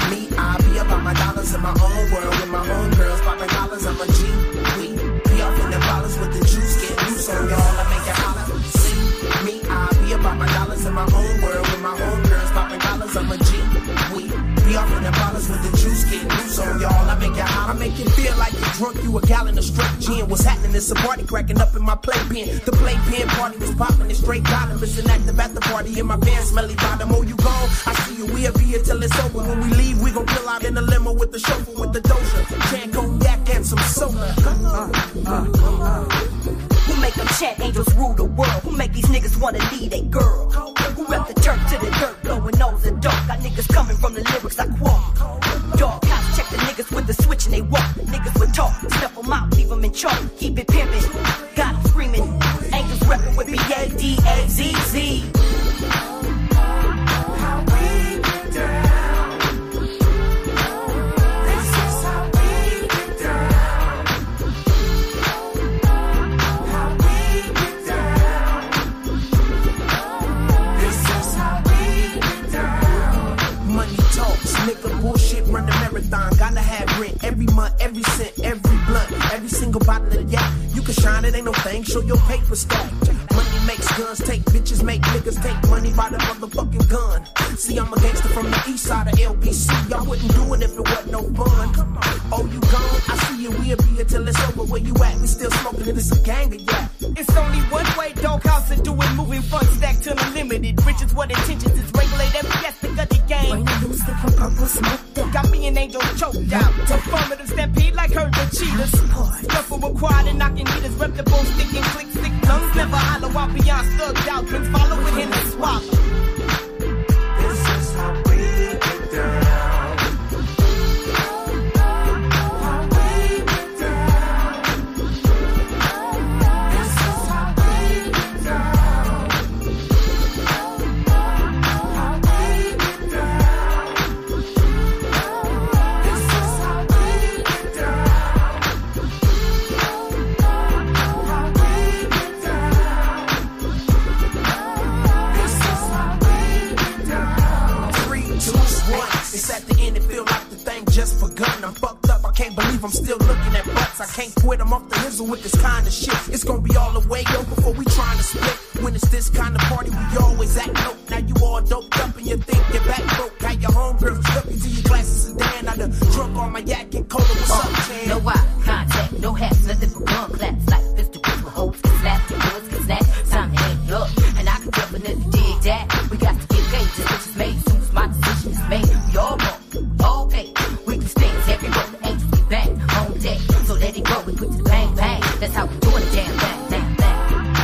Be off in the bottles with the juice getting loose on y'all. I make you hot, I make you feel like you're drunk. You a gallon of straight gin. What's happening? It's a party cracking up in my playpen. The playpen party was popping and straight dollar. Listen active at the party in my pants, smelly bottom. Oh, you gone? I see you. We'll be here till it's over. When we leave, we gon' pull out in the limo with the chauffeur with the doja. Can cognac and some soda.
Who make them chat angels rule the world? Who make these niggas wanna lead a girl? Who rep the dirt to the dirt, blowing nose and dark? Got niggas coming from the lyrics I quote. Dog cops check the niggas with the switch and they walk. Niggas would talk, step them out, leave them in chalk. Keep it pimpin', got 'em screaming. Angels reppin' with B-A-D-A-Z-Z.
Nigga, bullshit, run the marathon. Gotta have rent every month, every cent, every blunt, every single bottle of yak. You can shine, it ain't no thing. Show your paper stack. Money makes guns take bitches, make niggas take money by the motherfucking gun. See, I'm a gangster from the east side of LBC. I wouldn't do it if it wasn't no fun. Oh, you gone? I see you. We'll be here till it's over. Where you at? We still smoking and it's a gang of yak.
It's only one way, doghouse and do it, moving fun stack to the limited. Riches, what intentions is regulate every aspect of the game. Got me and angels choked out. Performative stampede like herds of cheetahs. Scuffle required and knocking hitters. Reputable, sticking, click, stick tongues. Never hollow out beyond thugged out. Twins follow with him and swallow.
This is how we get down. Just begun, I'm fucked up, I can't believe I'm still looking at butts. I can't quit, I'm off the hizzle with this kind of shit. It's gonna be all the way, yo, before we trying to split. When it's this kind of party, we always act dope. Now you all doped up and you think your back broke. How your home
Maybe we all wrong, okay. We can stand every road, angels get back on deck. So let it go, we put the bang bang. That's how we do it, damn bang bang bang.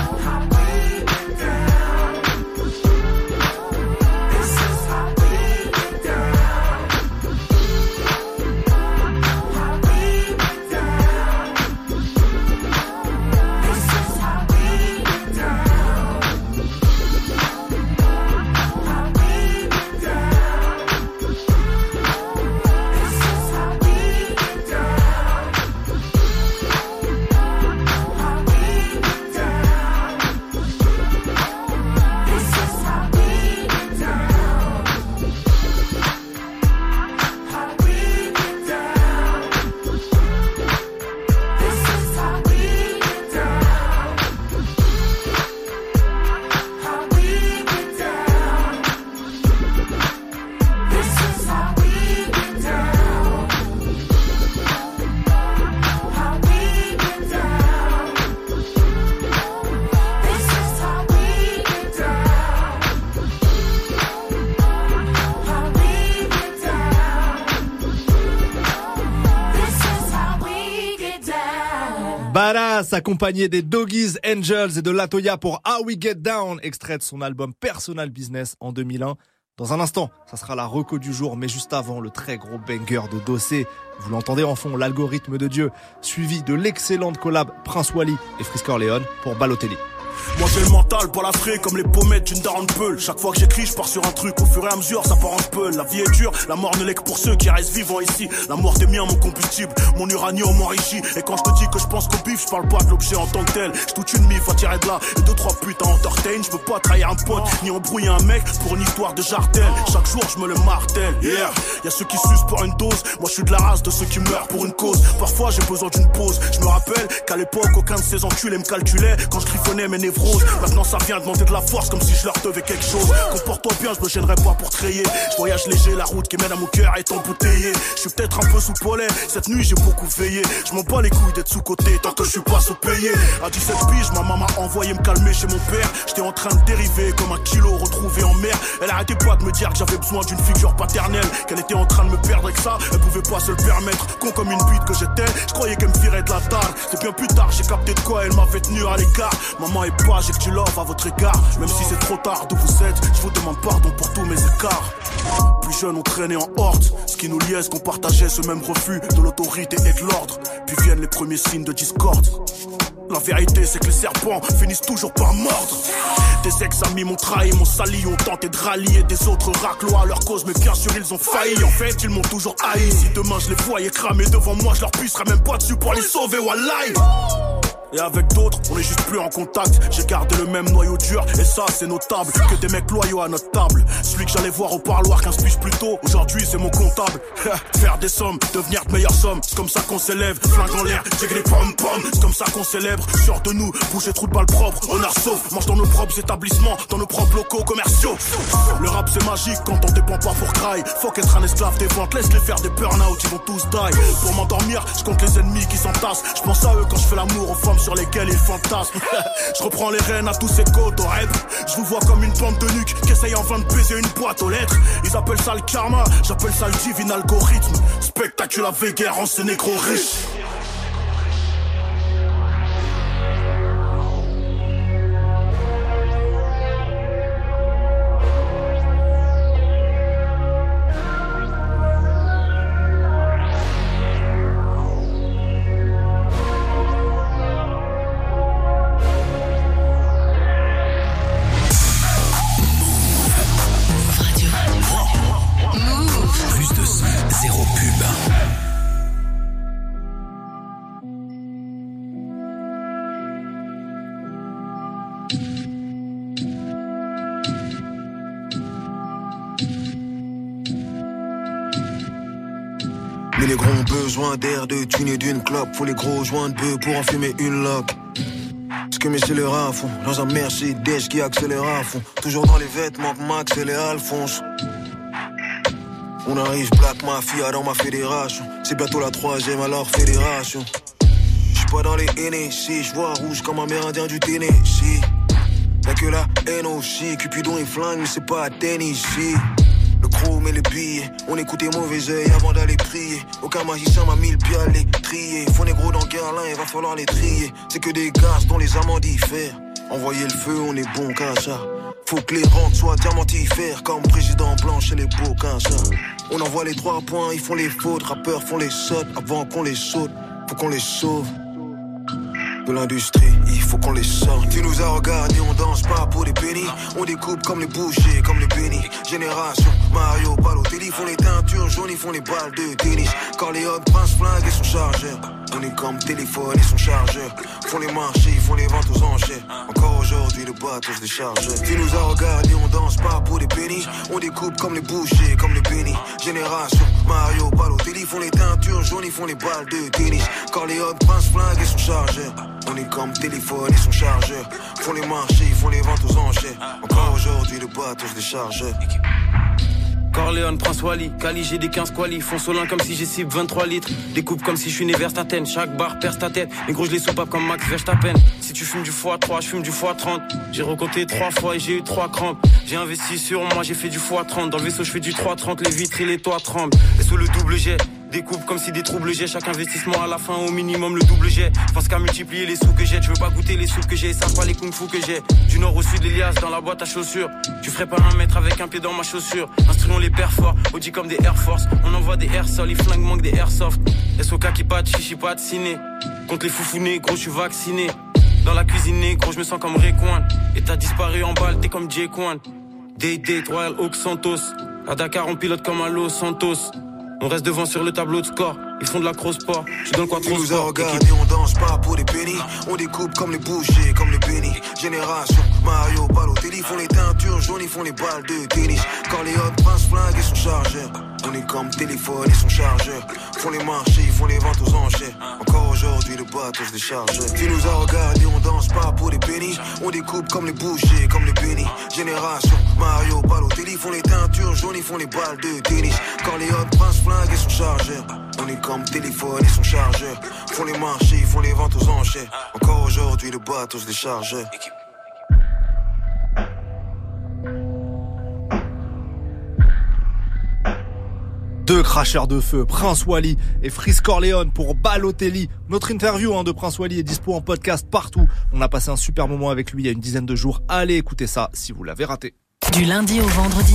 Badass, accompagné des Doggies Angels et de Latoya pour How We Get Down, extrait de son album Personal Business en 2001. Dans un instant, ça sera la reco du jour, mais juste avant, le très gros banger de Dossé. Vous l'entendez en fond, l'algorithme de Dieu, suivi de l'excellente collab Prince Wally et Frisk Orleans pour Balotelli.
Moi j'ai le mental pour l'Afrique comme les pommettes d'une daronne peule. Chaque fois que j'écris je pars sur un truc, au fur et à mesure ça part en peule. La vie est dure, la mort ne l'est que pour ceux qui restent vivants ici. La mort des miens, mon combustible, mon uranium enrichi. Et quand je te dis que je pense qu'au bif, je parle pas de l'objet en tant que tel. Je toute une mif à tirer de là et 2-3 putes à entertain. Je veux pas trahir un pote, ni embrouiller un mec pour une histoire de jartel. Chaque jour je me le martèle, yeah. Y'a ceux qui sucent pour une dose, moi je suis de la race de ceux qui meurent pour une cause. Parfois j'ai besoin d'une pause, je me rappelle qu'à l'époque aucun de ces enculés me calculait quand je griffonnais mes névroses. Maintenant ça vient demander de la force comme si je leur devais quelque chose. Comporte-toi bien, je me gênerai pas pour te rayer. Je voyage léger, la route qui mène à mon cœur est embouteillée. Je suis peut-être un peu sous polais, cette nuit j'ai beaucoup veillé. Je m'en bats les couilles d'être sous-côté tant que je suis pas sous-payé. À 17 piges, ma maman m'a envoyé me calmer chez mon père. J'étais en train de dériver comme un kilo retrouvé en mer. Elle arrêtait pas de me dire que j'avais besoin d'une figure paternelle, qu'elle était en train de me perdre et que ça, elle pouvait pas se le permettre. Con comme une bite que j'étais, je croyais qu'elle me virait de la table. C'est bien plus tard, j'ai capté de quoi elle m'avait tenu à l'écart. Maman est pas, j'ai que tu love à votre égard. Même si c'est trop tard d'où vous êtes, je vous demande pardon pour tous mes écarts. Plus jeunes on traînait en horde. Ce qui nous liait, c'est qu'on partageait ce même refus de l'autorité et de l'ordre. Puis viennent les premiers signes de discorde. La vérité c'est que les serpents finissent toujours par mordre. Des ex-amis m'ont trahi, m'ont sali, ont tenté de rallier des autres raclois à leur cause, mais bien sûr ils ont failli. En fait ils m'ont toujours haï. Si demain je les voyais cramer devant moi, je leur pisserais même pas dessus pour les sauver, wallahi. Et avec d'autres, on est juste plus en contact. J'ai gardé le même noyau dur, et ça c'est notable. Que des mecs loyaux à notre table. Celui que j'allais voir au parloir 15 piges plus tôt, aujourd'hui c'est mon comptable. Faire des sommes, devenir de meilleures sommes, c'est comme ça qu'on s'élève. Flingue en l'air, j'ai les pom-pom, c'est comme ça qu'on célèbre. Sûr de nous, bouger trou de balle propre, honneur sauf. Mange dans nos propres établissements, dans nos propres locaux commerciaux. Le rap c'est magique quand on dépend pas pour cry. Faut qu'être un esclave des ventes, laisse-les faire des burn-out, ils vont tous die. Pour m'endormir, je compte les ennemis qui s'entassent. Je pense à eux quand je fais l'amour aux femmes sur lesquels ils fantasment. Je reprends les rênes à tous ces côtes au rap. Je vous vois comme une bande de nuques qui essaye en vain de baiser une boîte aux lettres. Ils appellent ça le karma, j'appelle ça le divin algorithme. Spectaculaire guerre en ces négros riches.
Mais les gros ont besoin d'air, de thunes et d'une clope. Faut les gros joints de bœuf pour en fumer une loque. Ce que mes scélérats font dans un Mercedes qui accélère à fond. Toujours dans les vêtements que Max et les Alphonse. On arrive Black Mafia dans ma fédération. C'est bientôt la 3e alors fédération. J'suis pas dans les NSC, j'vois rouge comme un mérindien du Tennessee. Y'a que la NOC, Cupidon et flingue, mais c'est pas à Tennessee. Le chrome et les billets, On écoutait mauvais œil avant d'aller prier. Aucun magicien m'a mis le pied à les trier. Faux négro dans Guerlain, il va falloir les trier. C'est que des gaz dont les amants diffèrent. Envoyer le feu, on est bon qu'à ça. Faut que les rentes soient diamantifères. Comme président blanc chez les beaux qu'à ça. On envoie les 3 points, ils font les fautes. Rappeurs font les sautes avant qu'on les saute. Faut qu'on les sauve de l'industrie, il faut qu'on les sorte. Tu nous as regardés, on danse pas pour des pennies. On découpe comme les bouchers, comme les bénis. Génération, Mario, Balotelli. Font les teintures jaunes, ils font les balles de tennis. Corleone, Prince Flingue et son chargeur. On est comme téléphone et son chargeur. Font les marchés, ils font les ventes aux enchères. Encore aujourd'hui, le bateau se décharge. Tu nous as regardés, on danse pas pour des pennies. On découpe comme les bouchers, comme les bénis. Génération, Mario, Balotelli. Font les teintures jaunes, ils font les balles de tennis. Corleone, Prince Flingue et son chargeur. On est comme téléphone et son chargeur. Font les marchés, ils font les ventes aux enchères. Encore aujourd'hui, le bateau se décharge.
Corleone, Prince Wally, Cali, j'ai des 15 qualis. Font Solin comme si j'ai cible 23 litres. Découpe comme si je suis né vers ta tête. Chaque barre perce ta tête. Les gros, je les soupape comme Max Verstappen. Si tu fumes du x3, je fume du x30. J'ai recompté 3 fois et j'ai eu 3 crampes. J'ai investi sur moi, j'ai fait du x30. Dans le vaisseau, je fais du 330. Les vitres et les toits tremblent. Et sous le double jet. Découpe comme si des troubles j'ai. Chaque investissement à la fin au minimum le double jet. Pense qu'à multiplier les sous que j'ai. Je veux pas goûter les sous que j'ai. Ça pas les kung fu que j'ai. Du nord au sud l'Elias dans la boîte à chaussures. Tu ferais pas 1 mètre avec un pied dans ma chaussure. Instruons les pères forts. Audi comme des Air Force. On envoie des airsols. Les flingues manquent des airsoft. SOK qui pat, chichi pat, ciné. Contre les foufounés, gros je suis vacciné. Dans la cuisine, gros je me sens comme Rayquan. Et t'as disparu en balle, t'es comme Jay Quan. Day Royal Oak Santos. À Dakar on pilote comme à Los Santos. On reste devant sur le tableau de score. Ils font de la cross-sport. Je donne quoi trop sport.
Tu nous as regardés, on danse pas pour des pennies. On découpe comme les bouchers, comme les bénis. Génération, Mario, Balotelli. Font les teintures jaunes, ils font les balles de tennis. Corleone, Prince Flingue et son chargeur. On est comme téléphone et son chargeur. Font les marchés, ils font les ventes aux enchères. Encore aujourd'hui, le bateau se décharge. Tu nous as regardés, on danse pas pour des pennies. On découpe comme les bouchers, comme les bénis. Génération, Mario, Balotelli. Font les teintures jaunes, ils font les balles de tennis. Corleone, Prince Flingue et son chargeur. On est comme téléphone et son chargeur. Font les marchés, ils font les ventes aux enchères. Encore aujourd'hui, le bateau se décharge.
Deux cracheurs de feu, Prince Wally et Freeze Corleone pour Balotelli. Notre interview de Prince Wally est dispo en podcast partout. On a passé un super moment avec lui il y a une dizaine de jours. Allez écouter ça si vous l'avez raté.
Du lundi au vendredi.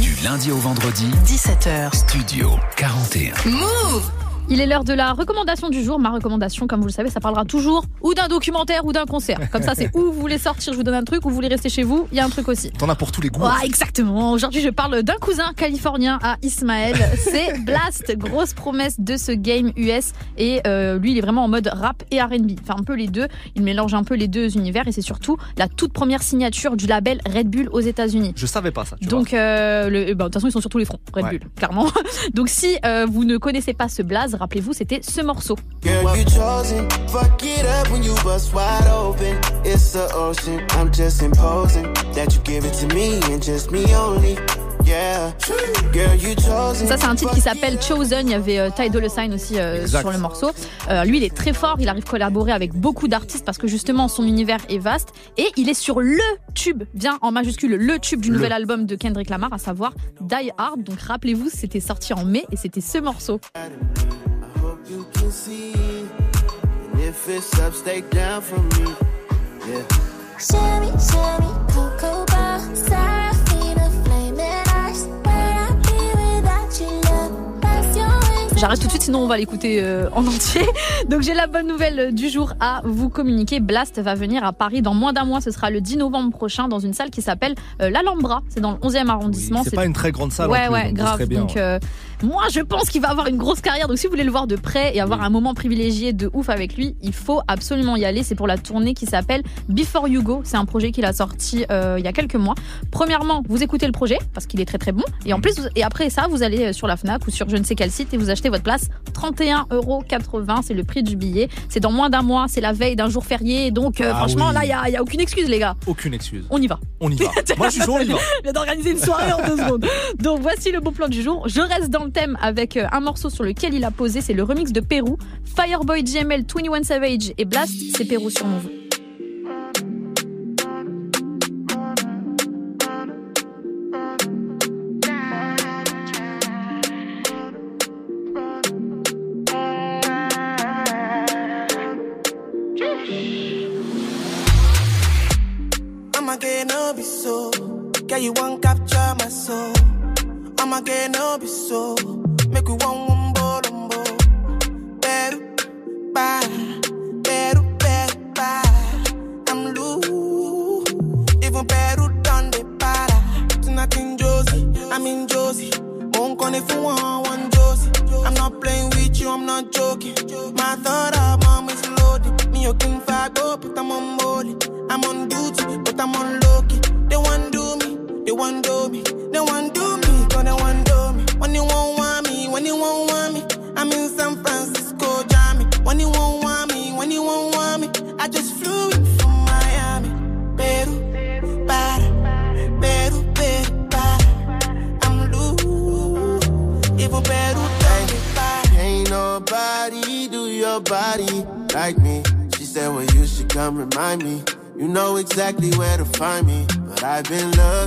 17h. Studio 41.
Move! Il est l'heure de la recommandation du jour. Ma recommandation, comme vous le savez, ça parlera toujours ou d'un documentaire ou d'un concert. Comme ça, c'est où vous voulez sortir, je vous donne un truc, ou vous voulez rester chez vous, il y a un truc aussi.
T'en as pour tous les goûts.
Ouais, exactement. Aujourd'hui, je parle d'un cousin californien à Ismaël. C'est Blast, grosse promesse de ce game US. Et lui, il est vraiment en mode rap et R&B. Enfin, un peu les deux. Il mélange un peu les deux univers. Et c'est surtout la toute première signature du label Red Bull aux États-Unis.
Je savais pas ça.
Donc, de toute façon, ils sont sur tous les fronts. Red Bull, clairement. Donc, si vous ne connaissez pas ce Blaze, rappelez-vous, c'était ce morceau.
Girl, you chosen. Fuck it up when you bust wide open. It's the ocean. I'm just imposing that you give it to me and just me only. Yeah. Girl, you chosen.
Ça, c'est un titre qui s'appelle Chosen. Il y avait Ty Dolla $ign aussi sur le morceau. Lui, il est très fort. Il arrive à collaborer avec beaucoup d'artistes parce que justement, son univers est vaste. Et il est sur le tube, bien en majuscule, le tube du nouvel album de Kendrick Lamar, à savoir Die Hard. Donc, rappelez-vous, c'était sorti en mai et c'était ce morceau.
You can see, and if it's up, stay down from me. Yeah.
Sherry, cocoa bar, Serafina, flaming ice. Where I be without your love? That's your wings.
J'arrête tout de suite, sinon on va l'écouter en entier. Donc j'ai la bonne nouvelle du jour à vous communiquer. Blast va venir à Paris dans moins d'un mois. Ce sera le 10 novembre prochain dans une salle qui s'appelle l'Alhambra. C'est dans le 11e arrondissement.
Oui, c'est pas une très grande salle.
Ouais,
en plus,
ouais, grave.
Bien,
donc moi je pense qu'il va avoir une grosse carrière. Donc si vous voulez le voir de près et avoir un moment privilégié de ouf avec lui, il faut absolument y aller. C'est pour la tournée qui s'appelle Before You Go. C'est un projet qu'il a sorti il y a quelques mois. Premièrement, vous écoutez le projet parce qu'il est très très bon. Et en plus, et après ça, vous allez sur la Fnac ou sur je ne sais quel site et vous achetez votre place. 31,80 €, c'est le prix du billet. C'est dans moins d'un mois, c'est la veille d'un jour férié. Donc franchement,
oui.
là, il y a aucune excuse, les gars.
Aucune excuse.
On y va.
On y va. Moi, je suis chaud, on y va.
Je viens d'organiser une soirée en 2 secondes. Donc voici le bon plan du jour. Je reste dans le thème avec un morceau sur lequel il a posé. C'est le remix de Pérou. Fireboy GML, 21 Savage et Blast. C'est Pérou sur Move.
be so. Girl, you won't capture my soul. I'ma get no be so. Make we one wumbo lumbo. Better, bye. Better, bye. I'm loose. Even better done the para. Tonight in Josie, I'm in Josie. Won't call if you want Josie. I'm not playing with you, I'm not joking. My thought of mom is loaded. Me, you can fuck up, but I'm on molly. I'm on duty, but I'm on low-key. They want do me, they want do me. They want do me, cause they want do me. When you won't want me, when you won't want me. I'm in San Francisco, Jammy. When you won't want me, when you won't want me. I just flew in from Miami. Peru, para, Peru, para. I'm loose, even Peru, para.
Ain't nobody do your body like me. She said, well, you should come remind me. You know exactly where to find me. But I've been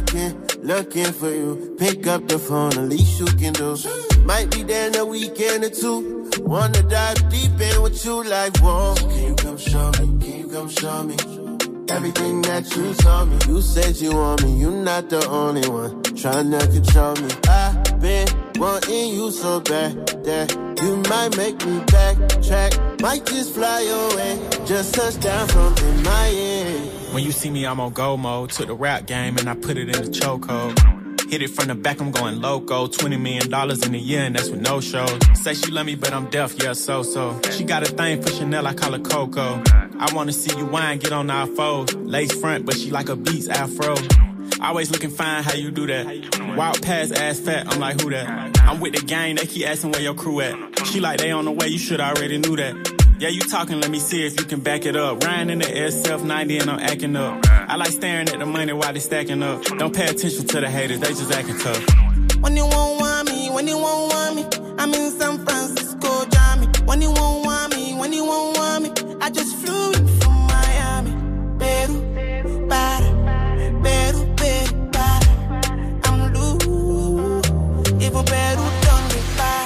looking for you. Pick up the phone, the least you can do. Might be there in a weekend or two. Wanna dive deep in with you like, whoa. Can you come show me? Can you come show me? Everything that you told me. You said you want me, you're not the only one trying to control me. I've been wanting you so bad that you might make me backtrack. Might just fly away, just touch down from in my head.
When you see me, I'm on go mode. Took the rap game and I put it in the chokehold. Hit it from the back, I'm going loco. $20 million in a year, and that's with no shows. Say she love me, but I'm deaf, yeah, so. She got a thing for Chanel, I call her Coco. I wanna see you whine, get on our foes. Lace front, but she like a Beats afro. Always looking fine, how you do that? Wild pass, ass fat, I'm like, who that? I'm with the gang, they keep asking where your crew at. She like, they on the way, you should already knew that. Yeah, you talking, let me see if you can back it up. Riding in the SF90 and I'm acting up. I like staring at the money while they stacking up. Don't pay attention to the haters, they just acting tough.
When you won't want me, when you won't want me. I'm in San Francisco, Jammy. When you won't want me, when you won't want me. I just flew in from Miami. Peru, para, Peru, para. I'm loose, even Peru done me para.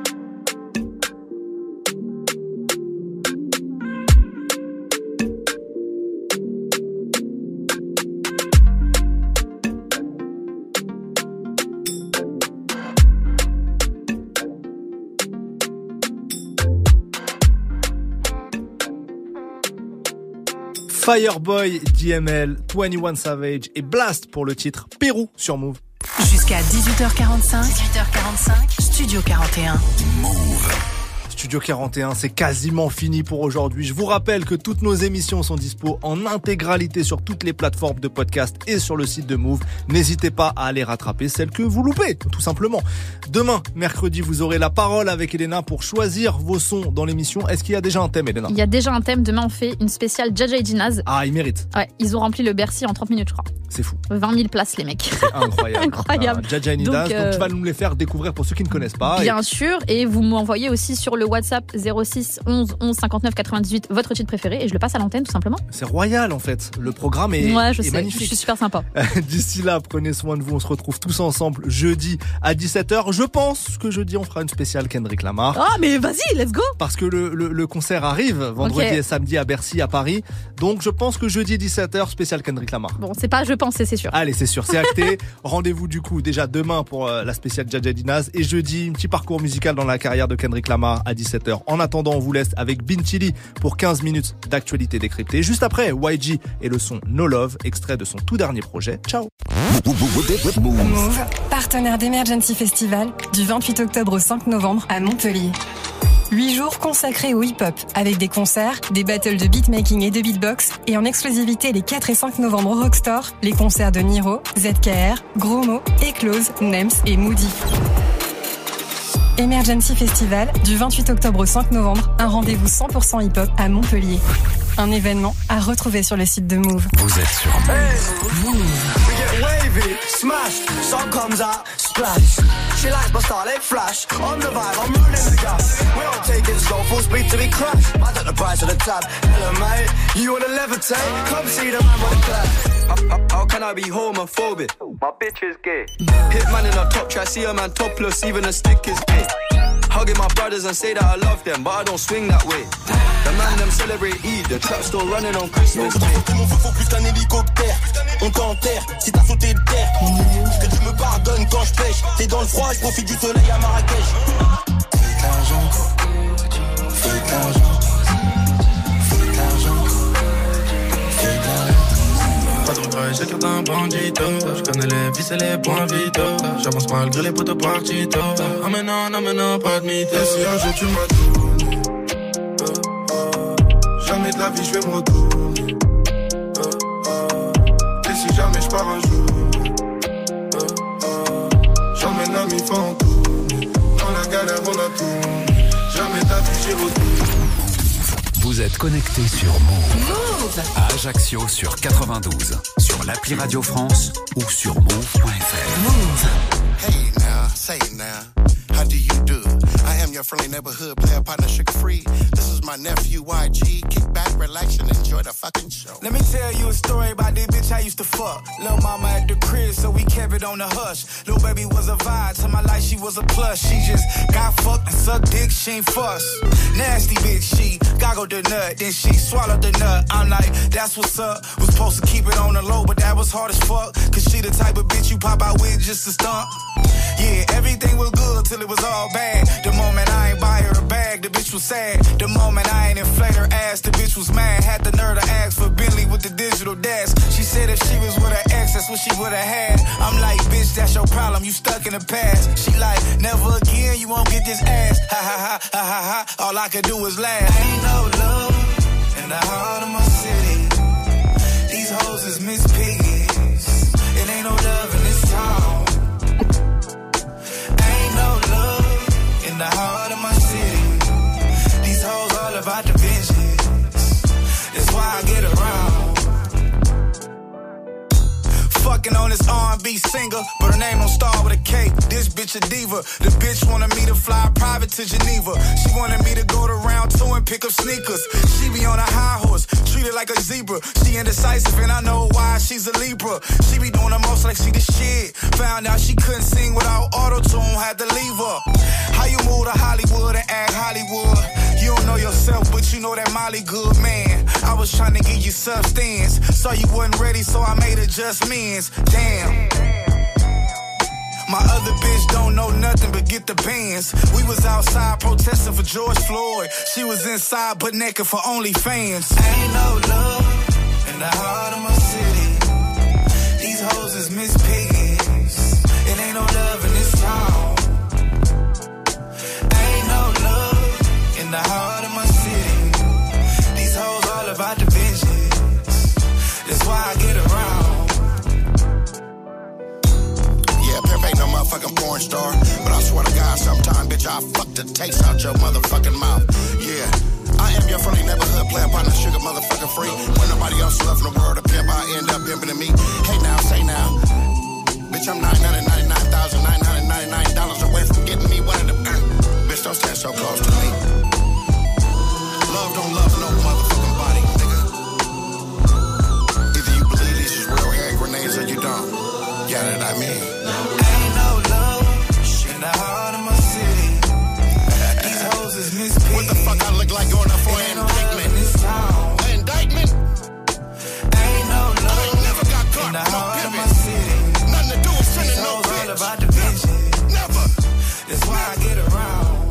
Fireboy, DML, 21 Savage et Blast pour le titre Pérou sur Move.
Jusqu'à 18h45, Studio 41.
Move. Studio 41, c'est quasiment fini pour aujourd'hui. Je vous rappelle que toutes nos émissions sont dispo en intégralité sur toutes les plateformes de podcast et sur le site de Move. N'hésitez pas à aller rattraper celles que vous loupez, tout simplement. Demain, mercredi, vous aurez la parole avec Elena pour choisir vos sons dans l'émission. Est-ce qu'il y a déjà un thème, Elena ?
Il y a déjà un thème. Demain, on fait une spéciale Jaja et Jinaz.
Ah, ils méritent.
Ouais, ils ont rempli le Bercy en 30 minutes, je crois.
C'est fou.
20 000 places, les mecs.
C'est incroyable.
Incroyable.
Jaja et Jinaz, donc tu vas nous les faire découvrir pour ceux qui ne connaissent pas.
Bien sûr, et vous m'envoyez aussi sur le WhatsApp 06 11 11 59 98 votre titre préféré et je le passe à l'antenne tout simplement.
C'est royal en fait. Le programme est,
ouais, je
est
sais,
magnifique.
Je suis super sympa.
D'ici là, prenez soin de vous. On se retrouve tous ensemble jeudi à 17h. Je pense que jeudi, on fera une spéciale Kendrick Lamar.
Ah, mais vas-y, let's go.
Parce que le concert arrive vendredi et samedi à Bercy, à Paris. Donc je pense que jeudi 17h, spéciale Kendrick Lamar.
Bon, c'est pas je pense, c'est sûr.
Allez, c'est sûr, c'est acté. Rendez-vous du coup déjà demain pour la spéciale Jaja Dinaz et jeudi, un petit parcours musical dans la carrière de Kendrick Lamar à 17h. En attendant, on vous laisse avec Bintili pour 15 minutes d'actualité décryptée. Juste après, YG et le son No Love, extrait de son tout dernier projet. Ciao.
Move, partenaire d'Emergency Festival, du 28 octobre au 5 novembre à Montpellier. 8 jours consacrés au hip-hop, avec des concerts, des battles de beatmaking et de beatbox, et en exclusivité les 4 et 5 novembre au Rockstore, les concerts de Niro, ZKR, Gros Mo, Eclose, Nems et Moody. Emergency Festival, du 28 octobre au 5 novembre, un rendez-vous 100% hip-hop à Montpellier. Un événement à retrouver sur le site de Move.
Vous êtes sur Move.
We get wavy, smash, sun comes out, splash. She likes my style, they flash. On the vibe, I'm rolling the gas. We don't take it slow, full speed till we crash. I got the price of the tab. Hello, mate, you wanna levitate? Come see the man with the clap. How can I be homophobic? My bitch is gay. Hit man in a top try, see a man topless, even a stick is gay. Hugging my brothers and say that I love them, but I don't swing that way.
The man them celebrate Eid, the trap still running on Christmas Day.
Il m'en faut plus qu'un hélicoptère. On t'enterre si t'as sauté de terre. Que tu me pardonnes quand je pêche. T'es dans le froid, je profite du soleil à Marrakech.
Fais de l'argent, fais de l'argent, fais de l'argent, fais de l'argent.
Pas trop travail, chacun d'un bandito. Je connais les vices et les points vitaux. J'avance malgré les potes partito. Ah mais non, pas de mytho. Et si un jour tu m'as tourné, jamais de la vie je vais me retourner. Et si jamais je pars un jour, j'emmène un mi fantôme. Dans la galère on a tout. Jamais de la vie j'y retourne.
Vous êtes connecté sur Move à Ajaccio sur 92, sur l'appli Radio France ou sur move.fr. Move.
Hey now, say now, how do you do? I am your friendly neighborhood player partner, sugar free. This is my nephew YG. Kick back, relax, and enjoy the fucking show.
Let me tell you a story about this bitch I used to fuck. Lil' mama at the crib, so we kept it on the hush. Lil' baby was a vibe, to my life she was a plus. She just got fucked and sucked dick, she ain't fuss. Nasty bitch, she goggled the nut, then she swallowed the nut. I'm like, that's what's up. Was supposed to keep it on the low, but that was hard as fuck. Cause she the type of bitch you pop out with just to stunt. Yeah, everything was good till it was all bad. The moment I ain't buy her a bag, the bitch was sad. The moment I ain't inflate her ass, the bitch was mad. Had the nerve to ask for Bentley with the digital dash. She said if she was with her ex, that's what she would've had. I'm like, bitch, that's your problem, you stuck in the past. She like, never again, you won't get this ass. Ha ha ha, ha ha ha, all I could do was laugh. Ain't no love in the heart of my city. These hoes is Miss Piggies. It ain't no love in this town. In the heart of my city, these hoes all about the vengeance. That's why I get around. Fucking on this R&B singer, but her name don't start with a K. This bitch a diva. The bitch wanted me to fly private to Geneva. She wanted me to go to round 2 and pick up sneakers. She be on a high horse, treated like a zebra. She indecisive and I know why, she's a Libra. She be doing the most like she the shit. Found out she couldn't sing without auto-tune, had to leave her. How you move to Hollywood and act Hollywood? You don't know yourself, but you know that Molly good, man. I was trying to give you substance. Saw you wasn't ready, so I made adjustments. Damn. My other bitch don't know nothing but get the bands. We was outside protesting for George Floyd. She was inside but naked for OnlyFans. Ain't no love in the heart of my city. These hoes is Miss Piggies. It ain't no love in this town. In the heart of my city, these hoes all about the vengeance. That's why I get around.
Yeah, Pimp ain't no motherfucking porn star, but I swear to God, sometime, bitch, I'll fuck the taste out your motherfucking mouth. Yeah, I am your friendly neighborhood player partner, sugar motherfucking free. When nobody else left in the world to pimp, I end up pimping me. Hey now, say now, bitch, I'm $999,999 away from getting me